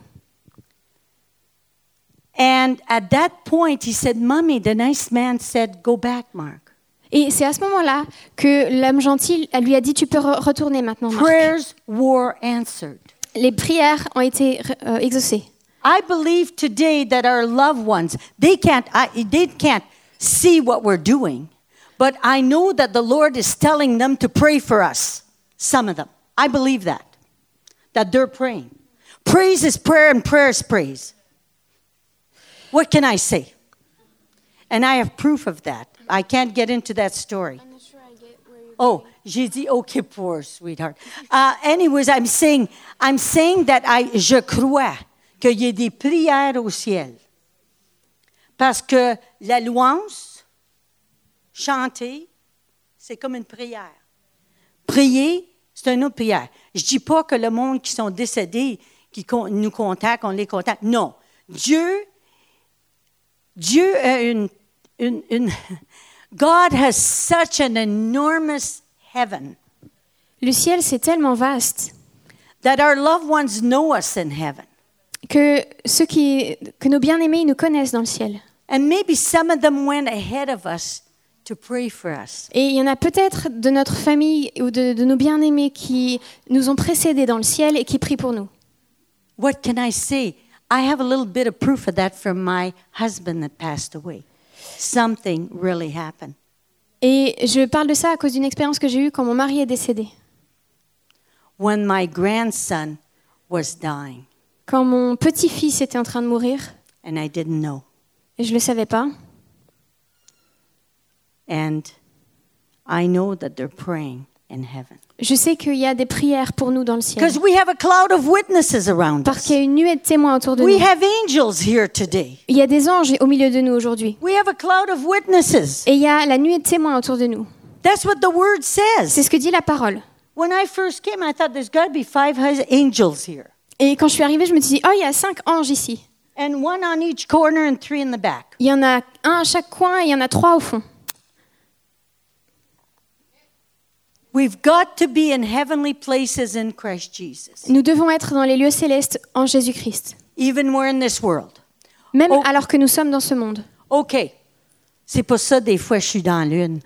And at that point, he said, Mommy, the nice man said, go back, Mark. Et c'est à ce moment-là que l'homme gentil lui a dit, tu peux retourner maintenant, Marc. Prayers were answered. Les prières ont été exaucées. I believe today that our loved ones, they can't see what we're doing, but I know that the Lord is telling them to pray for us, some of them. I believe that they're praying. Praise is prayer and prayer is praise. What can I say? And I have proof of that. I can't get into that story. I'm not sure I get where you're Oh, j'ai dit OK pour, sweetheart. Anyways, I'm saying that je crois qu'il y a des prières au ciel. Parce que la louange, chanter, c'est comme une prière. Prier, c'est une autre prière. Je ne dis pas que le monde qui sont décédés, qui nous contactent, on les contacte. Non. Dieu a une God has such an enormous heaven. Le ciel, c'est tellement vaste That our loved ones know us in heaven. que nos bien-aimés ils nous connaissent dans le ciel. And maybe some of them went ahead of us to pray for us. Et il y en a peut-être de notre famille ou de nos bien-aimés qui nous ont précédés dans le ciel et qui prient pour nous. What can I say? I have a little bit of proof of that from my husband that passed away. Something really happened. Et je parle de ça à cause d'une expérience que j'ai eue quand mon mari est décédé. When my grandson was dying, Quand mon petit-fils était en train de mourir, and I didn't know. et je ne le savais pas, And I know that they're praying in heaven. je sais qu'il y a des prières pour nous dans le ciel. Because we have a cloud of witnesses around Parce us. qu'il y a une nuée de témoins autour de We nous. have angels here today. Il y a des anges au milieu de nous aujourd'hui. We have a cloud of witnesses. Et il y a la nuée de témoins autour de nous. That's what the word says. C'est ce que dit la parole. When I first came, I thought there's got to be 5 angels here. Et quand je suis arrivée, je me suis dit, oh, il y a 5 anges ici. And 1 on each corner and 3 in the back. Il y en a un à chaque coin et il y en a 3 au fond. We've got to be in heavenly places in Christ Jesus. Nous devons être dans les lieux célestes en Jésus-Christ. Even we're in this world. Même Oh. alors que nous sommes dans ce monde. OK. C'est pour ça, des fois, je suis dans la lune.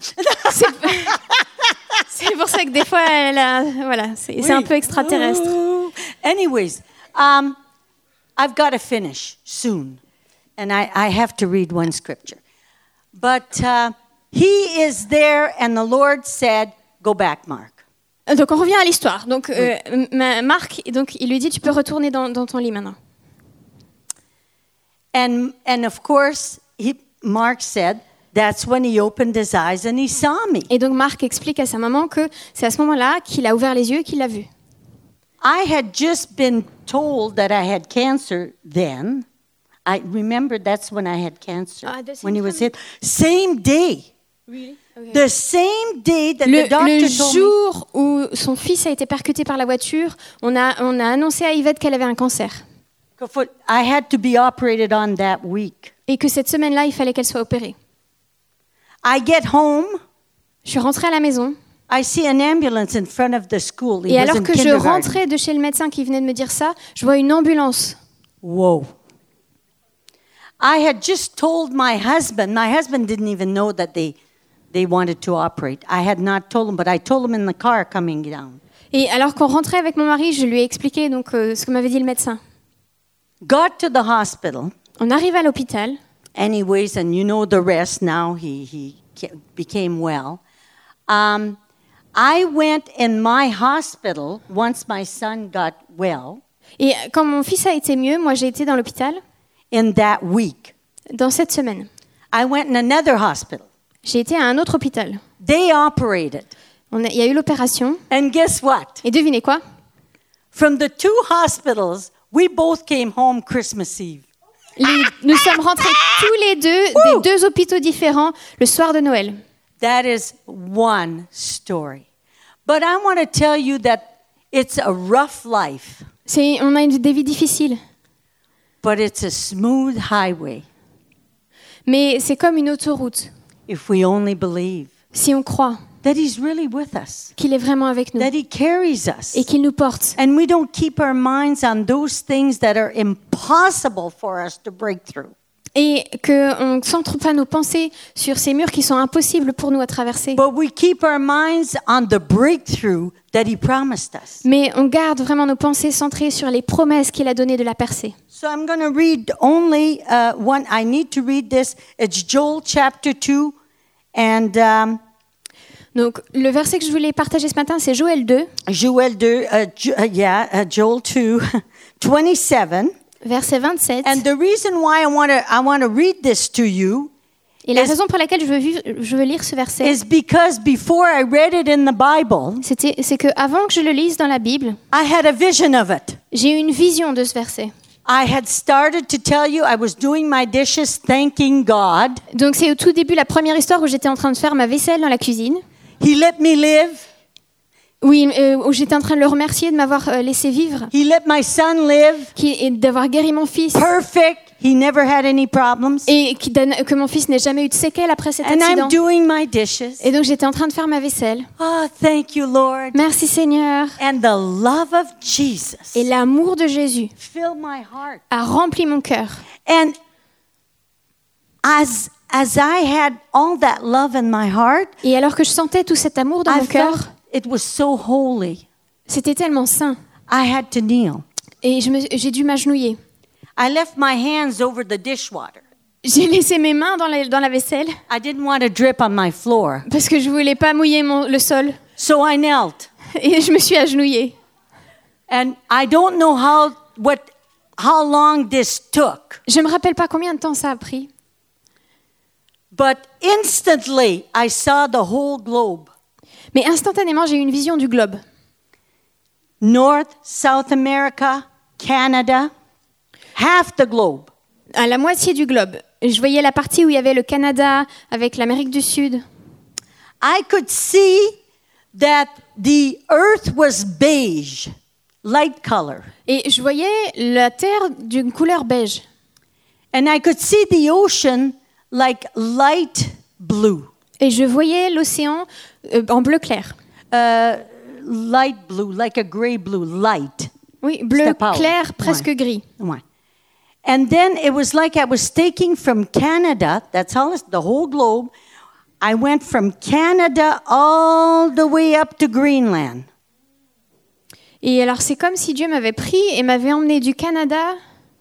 C'est pour ça que des fois, c'est un peu extraterrestre. Ooh. Anyways, I've got to finish soon. And I have to read one scripture. But he is there and the Lord said, go back, Mark. Donc on revient à l'histoire. Donc Marc, donc il lui dit, tu peux retourner dans ton lit maintenant. And of course, Mark said, that's when he opened his eyes and he saw me. Et donc Marc explique à sa maman que c'est à ce moment-là qu'il a ouvert les yeux et qu'il l'a vu. I had just been told that I had cancer then. I remember that's when I had cancer, the same when he was time? hit. Same day. Really? Okay. The same day that the doctor Le told me. jour où son fils a été percuté par la voiture, on a annoncé à Yvette qu'elle avait un cancer. I had to be operated on that week. Et que cette semaine-là, il fallait qu'elle soit opérée. I get home. Je suis rentrée à la maison. I see an ambulance in front of the school. It Et was alors in que je kindergarten. rentrais de chez le médecin qui venait de me dire ça, je vois une ambulance. Whoa. I had just told my husband didn't even know that they wanted to operate. I had not told him, but I told him in the car coming down. Et alors qu'on rentrait avec mon mari, je lui ai expliqué donc, ce que m'avait dit le médecin. Got to the hospital. On arrive à l'hôpital. Anyways, and you know the rest now, he became well. I went in my hospital once my son got well Et quand mon fils a été mieux, moi j'ai été dans l'hôpital in that week. dans cette semaine. I went in another hospital. J'ai été à un autre hôpital. They operated. Il y a eu l'opération. And guess what? Et devinez quoi? From the two hospitals, we both came home Christmas Eve. Nous sommes rentrés tous les deux des deux hôpitaux différents le soir de Noël. That is one story. But I want to tell you that it's a rough life, On a des vies difficiles, but it's a smooth highway mais c'est comme une autoroute. if we only believe Si on croit that He's really with us, qu'il est vraiment avec nous that He carries us. et qu'il nous porte. And we don't keep our minds on those things that are impossible for us to break through. Et qu'on ne centre pas nos pensées sur ces murs qui sont impossibles pour nous à traverser. But we keep our minds on the breakthrough that He promised us. Mais on garde vraiment nos pensées centrées sur les promesses qu'il a données de la percée. So I'm going to read only one. I need to read this. It's Joel chapter 2. And Donc le verset que je voulais partager ce matin, c'est Joël 2, Joel 2, Joel 2, 27. verset 27. And the reason why I want to read this to you Et la raison pour laquelle je veux lire ce verset, is because before I read it in the Bible, c'est que avant que je le lise dans la Bible, I had a vision of it. j'ai eu une vision de ce verset. I had started to tell you I was doing my dishes, thanking God. Donc c'est au tout début la première histoire où j'étais en train de faire ma vaisselle dans la cuisine. He let me live. Oui, où j'étais en train de le remercier de m'avoir laissé vivre, He let my son live. et d'avoir guéri mon fils, Perfect. He never had any problems. et que mon fils n'ait jamais eu de séquelles après cet And accident. I'm doing my dishes. Et donc j'étais en train de faire ma vaisselle. Oh, thank you, Lord. Merci Seigneur. And the love of Jesus Et l'amour de Jésus filled my heart. a rempli mon cœur. And as I had all that love in my heart, Et alors que je sentais tout cet amour dans I mon cœur, felt it was so holy. c'était tellement saint. I had to kneel. Et j'ai dû m'agenouiller. I left my hands over the dishwater. J'ai laissé mes mains dans la vaisselle I didn't want to drip on my floor. parce que je voulais pas mouiller le sol. So I knelt. Et je me suis agenouillée. And I don't know how long this took. Je me rappelle pas combien de temps ça a pris. But instantly I saw the whole globe. Mais instantanément, j'ai eu une vision du globe. North, South America, Canada, half the globe. À la moitié du globe. Je voyais la partie où il y avait le Canada avec l'Amérique du Sud. I could see that the earth was beige, light color. Et je voyais la terre d'une couleur beige. And I could see the ocean like light blue. Et je voyais l'océan en bleu clair. Light blue, like a gray blue, light. Oui, bleu Step out. clair, presque gris. Ouais. And then it was like I was taking from Canada, that's all, the whole globe. I went from Canada all the way up to Greenland. Et alors c'est comme si Dieu m'avait pris et m'avait emmené du Canada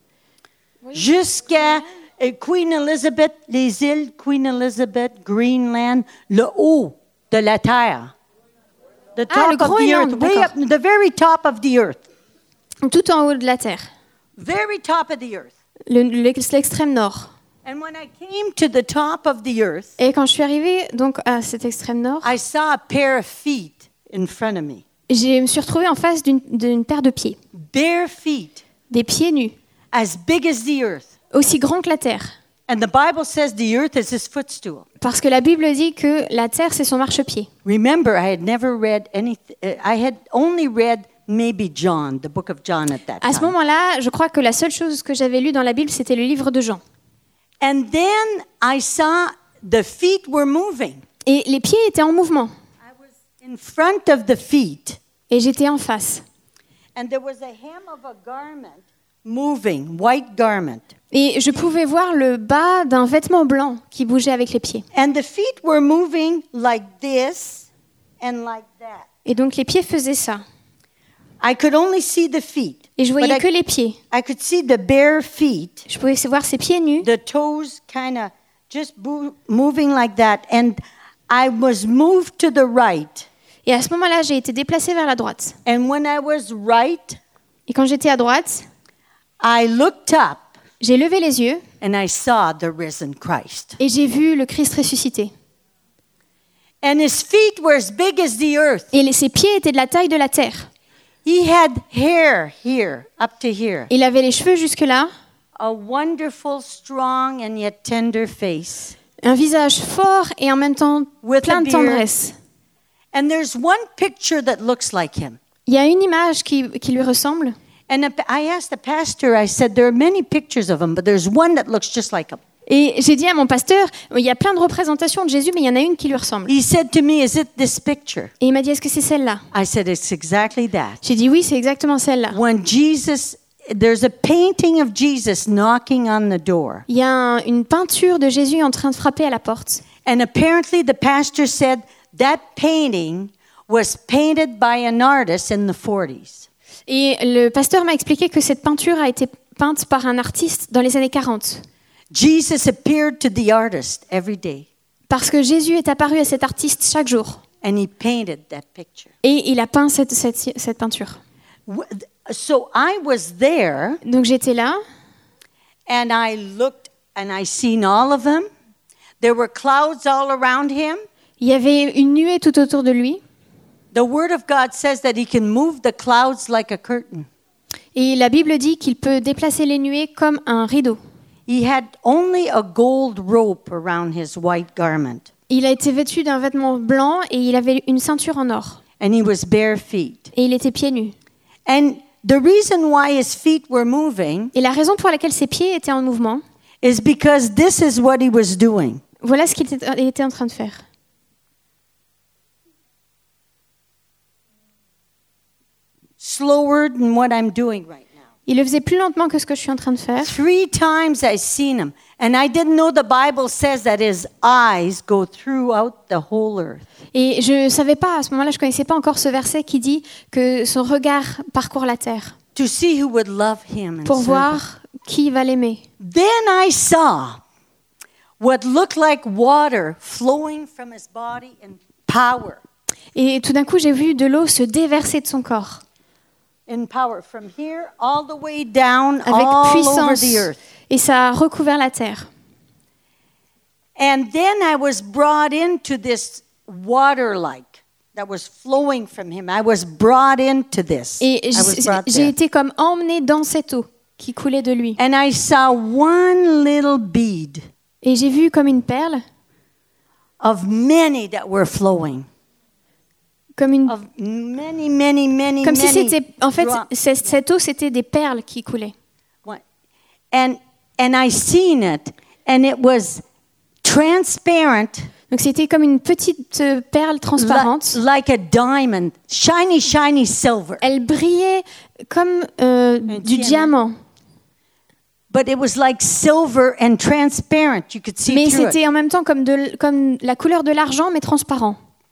Jusqu'à Queen Elizabeth, les îles Queen Elizabeth, Greenland, le haut de la terre. The top le of the Groenland, earth, way up, d'accord. the very top of the earth. tout en haut de la terre, Very top of the earth. l'extrême nord. And when I came to the top of the earth, Et quand je suis arrivée donc à cet extrême nord, I saw a pair of feet in front of me. je me suis retrouvée en face d'une paire de pieds, Bare feet, des pieds nus, as big as the earth. aussi grands que la terre. And the Bible says the earth is his footstool. Parce que la Bible dit que la terre c'est son marchepied. Remember, I had never read anything. I had only read maybe John, the book of John at that À ce time. moment-là, je crois que la seule chose que j'avais lue dans la Bible, c'était le livre de Jean. And then I saw the feet were moving. Et les pieds étaient en mouvement. I was in front of the feet, Et j'étais en face. and there was a hem of a garment moving, white garment. Et je pouvais voir le bas d'un vêtement blanc qui bougeait avec les pieds. And the feet were moving like this and like that. Et donc les pieds faisaient ça. I could only see the feet. Et je but voyais que les pieds. I could see the bare feet, Je pouvais voir ses pieds nus. the toes kind of just moving like that. And I was moved to the right. Et à ce moment-là, j'ai été déplacée vers la droite. And when I was right, Et quand j'étais à droite, I looked up j'ai levé les yeux and I saw the risen Christ. et j'ai vu le Christ ressuscité. And his feet were as big as the earth. Et ses pieds étaient de la taille de la terre. He had hair here, up to here. Il avait les cheveux jusque-là, A wonderful, strong, and yet tender face. un visage fort et en même temps With plein a de beard. tendresse. And there's one picture that looks like him. Il y a une image qui lui ressemble. And I asked the pastor, I said, there are many pictures of him, but there's one that looks just like him. Et j'ai dit à mon pasteur, il y a plein de représentations de Jésus, mais il y en a une qui lui ressemble. He said to me, is it this picture? Et il m'a dit, est-ce que c'est celle-là? I said, it's exactly that. J'ai dit, oui, c'est exactement celle-là. When there's a painting of Jesus knocking on the door. Il y a une peinture de Jésus en train de frapper à la porte. And apparently the pastor said that painting was painted by an artist in the 40s. Et le pasteur m'a expliqué que cette peinture a été peinte par un artiste dans les années 40. Jesus appeared to the artist every day. Parce que Jésus est apparu à cet artiste chaque jour. And he painted that picture. Et il a peint cette peinture. So I was there, Donc j'étais là, and I looked, and I seen all of them. There were clouds all around him. il y avait une nuée tout autour de lui. The Word of God says that he can move the clouds like a curtain. Et la Bible dit qu'il peut déplacer les nuées comme un rideau. He had only a gold rope around his white garment, Il a été vêtu d'un vêtement blanc et il avait une ceinture en or. and he was bare feet. Et il était pieds nus. And the reason why his feet were moving Et la raison pour laquelle ses pieds étaient en mouvement, is because this is what he was doing. voilà ce qu'il était en train de faire. Slower than what I'm doing right now. Il le faisait plus lentement que ce que je suis en train de faire. 3 times I seen him, and I didn't know the Bible says that his eyes go throughout the whole earth. Et je ne savais pas, à ce moment-là, je ne connaissais pas encore ce verset qui dit que son regard parcourt la terre To see who would love him and pour serve him. voir qui va l'aimer. Then I saw what looked like water flowing from his body in power. Et tout d'un coup, j'ai vu de l'eau se déverser de son corps In power, from here all the way down, avec all over puissance. the earth. Et ça a recouvert la terre. And then I was brought into this water-like that was flowing from him. I was brought into this. Et I was brought j'ai there. été comme emmenée dans cette eau qui coulait de lui. And I saw one little bead Et j'ai vu comme une perle, of many that were flowing. comme Of many, comme si c'était, en fait, drops. cette eau, c'était des perles qui coulaient. And I seen it, and it was transparent, Donc c'était comme une petite perle transparente. like a diamond, shiny, shiny silver. Elle brillait comme du diamant. diamant. But it was like silver and transparent. You could see Mais through c'était it. en même temps comme la couleur de l'argent, mais transparent.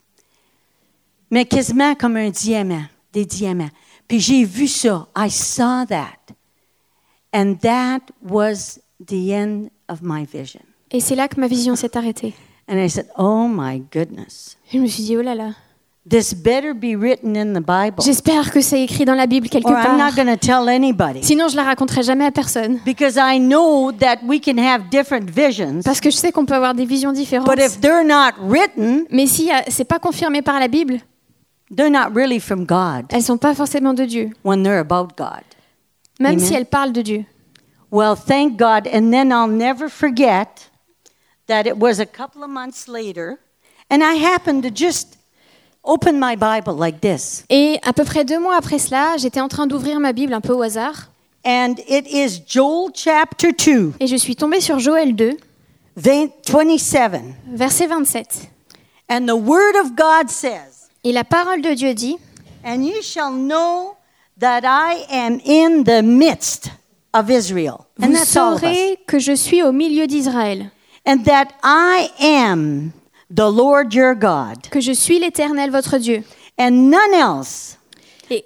Mais quasiment comme un diamant, des diamants. Puis j'ai vu ça. I saw that. And that was the end of my vision. Et c'est là que ma vision s'est arrêtée. And I said, oh my goodness. Je me suis dit, oh là là. This better be written in the Bible. J'espère que c'est écrit dans la Bible quelque Or I'm not part. going to tell anybody. Sinon, je la raconterai jamais à personne. Because I know that we can have different visions. Parce que je sais qu'on peut avoir des visions différentes. But if they're not written, Mais si c'est pas confirmé par la Bible, they're not really from God elles sont pas forcément de Dieu. when they're about God. Même Amen. si elles parlent de Dieu. Well, thank God. And then I'll never forget that it was a couple of months later, and I happened to just open my Bible like this. Et à peu près 2 mois après cela, j'étais en train d'ouvrir ma Bible un peu au hasard. And it is Joel chapter 2, Et je suis tombée sur Joël 2, 27. Verset 27. And the word of God says, Et la parole de Dieu dit, and you shall know that I am in the midst of Israel. And vous that's all of us. saurez que je suis au milieu d'Israël, And that I am the Lord your God, que je suis l'Éternel votre Dieu. and none else. Et,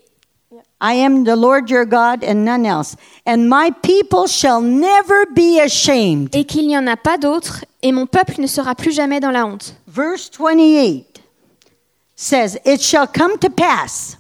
I am the Lord your God and none else. And my people shall never be ashamed. et qu'il n'y en a pas d'autre, et mon peuple ne sera plus jamais dans la honte. Verse 28 says, It shall come to pass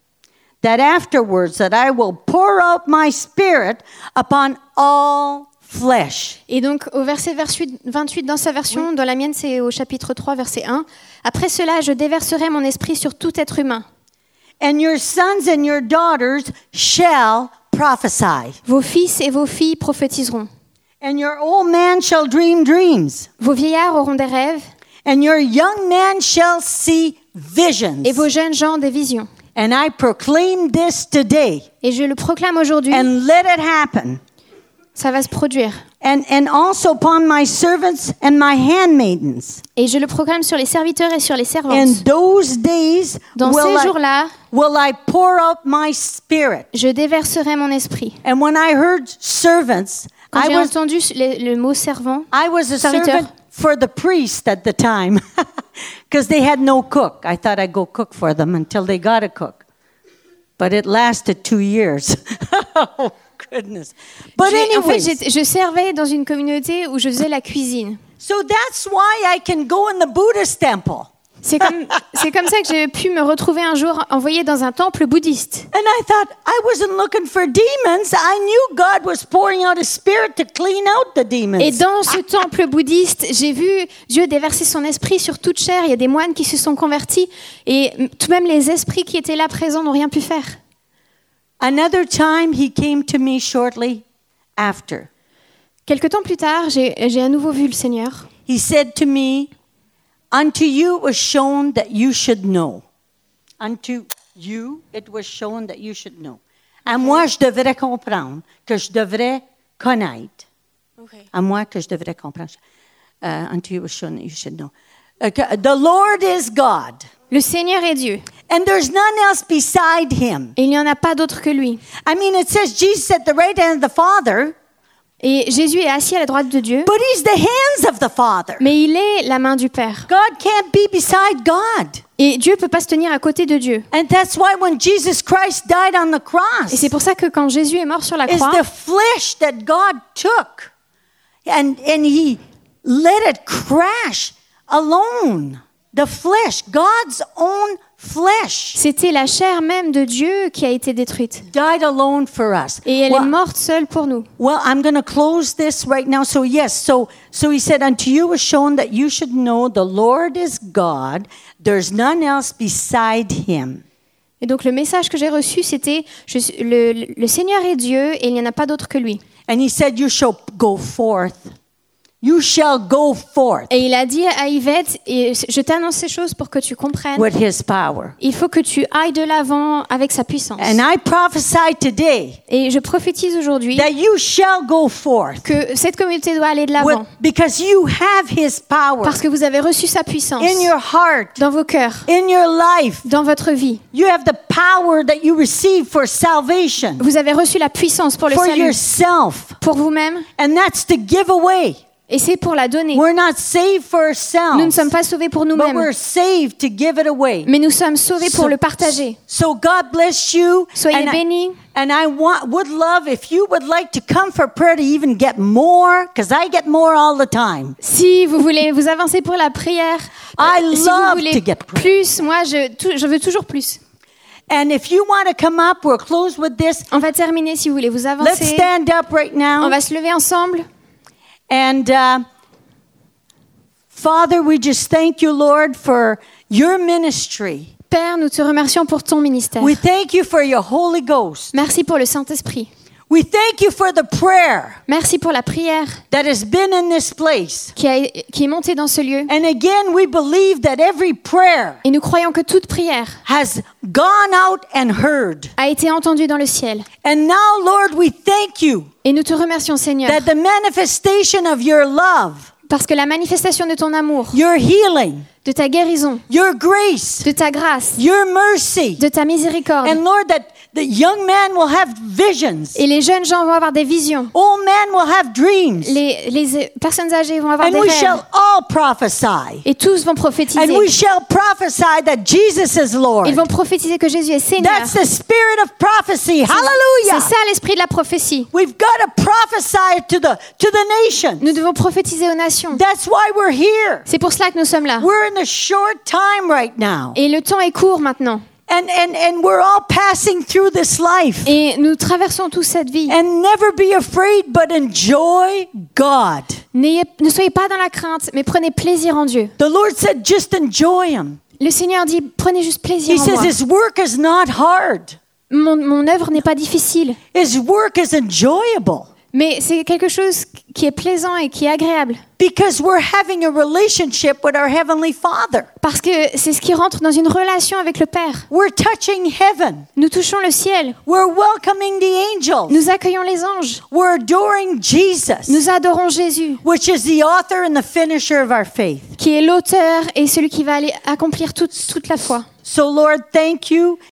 that afterwards that I will pour out my spirit upon all flesh. Et donc au verset 28 dans sa version, dans la mienne c'est au chapitre 3, verset 1. Après cela, je déverserai mon esprit sur tout être humain. And your sons and your daughters shall prophesy. Vos fils et vos filles prophétiseront. And your old man shall dream dreams. Vos vieillards auront des rêves, And your young man shall see visions. et vos jeunes gens des visions. And I proclaim this today. Et je le proclame aujourd'hui, And let it happen. ça va se produire. And also upon my servants and my handmaidens. Et je le proclame sur les serviteurs et sur les servantes. In those days Dans ces jours-là, will I pour out my spirit. je déverserai mon esprit. And when I heard servants, Quand I j'ai was entendu le mot servant, a serviteur. servant for the priest at the time because they had no cook. I thought I'd go cook for them until they got a cook. But it lasted 2 years. Oh, goodness. But en fait, anyways, je servais dans une communauté où je faisais la cuisine. so that's why I can go in the Buddhist temple. C'est comme ça que j'ai pu me retrouver un jour envoyée dans un temple bouddhiste. And I thought, I wasn't looking for demons. I knew God was pouring out His Spirit to clean out the demons. Et dans ce temple bouddhiste, j'ai vu Dieu déverser son esprit sur toute chair. Il y a des moines qui se sont convertis et tout de même les esprits qui étaient là présents n'ont rien pu faire. Another time, He came to me shortly after. Quelque temps plus tard, j'ai à nouveau vu le Seigneur. He said to me, Unto you it was shown that you should know. Unto you it was shown that you should know. À moi, je devrais comprendre, que je devrais connaître. À moi, que je devrais comprendre. Unto you it was shown that you should know. The Lord is God. Le Seigneur est Dieu. And there's none else beside Him. Et il n'y en a pas d'autre que lui. I mean, it says Jesus at the right hand of the Father, Et Jésus est assis à la droite de Dieu, but He's the hands of the Father. mais il est la main du Père. God can't be beside God. Et Dieu ne peut pas se tenir à côté de Dieu. And that's why when Jesus Christ died on the cross, Et c'est pour ça que quand Jésus est mort sur la it's croix, the flesh that God took and He let it crash alone. The flesh, God's own flesh, c'était la chair même de Dieu qui a été détruite. died alone for us. Et elle Well, est morte seule pour nous. Well, I'm going to close this right now. So yes, so He said, unto you was shown that you should know the Lord is God. There's none else beside Him. Et donc le message que j'ai reçu, c'était le Seigneur est Dieu et il n'y en a pas d'autre que lui. And He said, you shall go forth. You shall go forth Et il a dit à Yvette, et je t'annonce ces choses pour que tu comprennes, with His power. il faut que tu ailles de l'avant avec sa puissance. And I prophesy today Et je prophétise aujourd'hui that you shall go forth que cette communauté doit aller de l'avant because you have His power parce que vous avez reçu sa puissance in your heart, dans vos cœurs, in your life. dans votre vie. You have the power that you receive for salvation, Vous avez reçu la puissance pour le for salut, yourself, pour vous-même, and that's to give away. et c'est pour la donner. We're not saved for Nous ne ourselves, sommes pas sauvés pour but nous-mêmes, we're saved to give it away. mais nous sommes sauvés pour le partager. So God bless you. Soyez And bénis. And I would love if you would like to come for prayer to even get more, because I get more all the time. Si vous voulez vous avancer pour la prière, I si vous love voulez to get plus, moi je veux toujours plus. And if you want to come up, we'll close with this. On va terminer si vous voulez vous Let's avancer. stand up right On now. va se lever ensemble. And Father, we just thank you, Lord, for your ministry. Père, nous te remercions pour ton ministère. We thank you for your Holy Ghost. Merci pour le Saint-Esprit. We thank you for the prayer Merci pour la prière that has been in this place. qui est montée dans ce lieu. And again, we believe that every prayer Et nous croyons que toute prière has gone out and heard. a été entendue dans le ciel. And now, Lord, we thank you Et nous te remercions, Seigneur, that the manifestation of your love Parce que la manifestation de ton amour, your healing, de ta guérison, your grace, de ta grâce, your mercy. de ta miséricorde. And Lord, that the young man will have visions. Et les jeunes gens vont avoir des visions. Old men will have dreams. Les personnes âgées vont avoir And des we rêves. shall all prophesy. Et tous vont prophétiser. And we shall prophesy that Jesus is Lord. Ils vont prophétiser que Jésus est Seigneur. That's the spirit of prophecy. C'est Hallelujah. ça l'esprit de la prophétie. We've got to prophesy to the nations. Nous devons prophétiser aux nations. That's why we're here. C'est pour cela que nous sommes là. We're in a short time right now. Et le temps est court maintenant. And we're all passing through this life. Et nous traversons tous cette vie. And never be afraid, but enjoy God. Ne soyez pas dans la crainte, mais prenez plaisir en Dieu. The Lord said, just enjoy Him. Le Seigneur dit, prenez juste plaisir He en says moi. His work is not hard. Mon œuvre n'est pas difficile, His work is enjoyable. mais c'est quelque chose qui est plaisant et qui est agréable. Because we're having a relationship with our Heavenly Father. Parce que c'est ce qui rentre dans une relation avec le Père. We're touching heaven. Nous touchons le ciel. We're welcoming the angels. Nous accueillons les anges. We're adoring Jesus, Nous adorons Jésus, which is the author and the finisher of our faith. qui est l'auteur et celui qui va aller accomplir toute la foi. So Lord, thank you.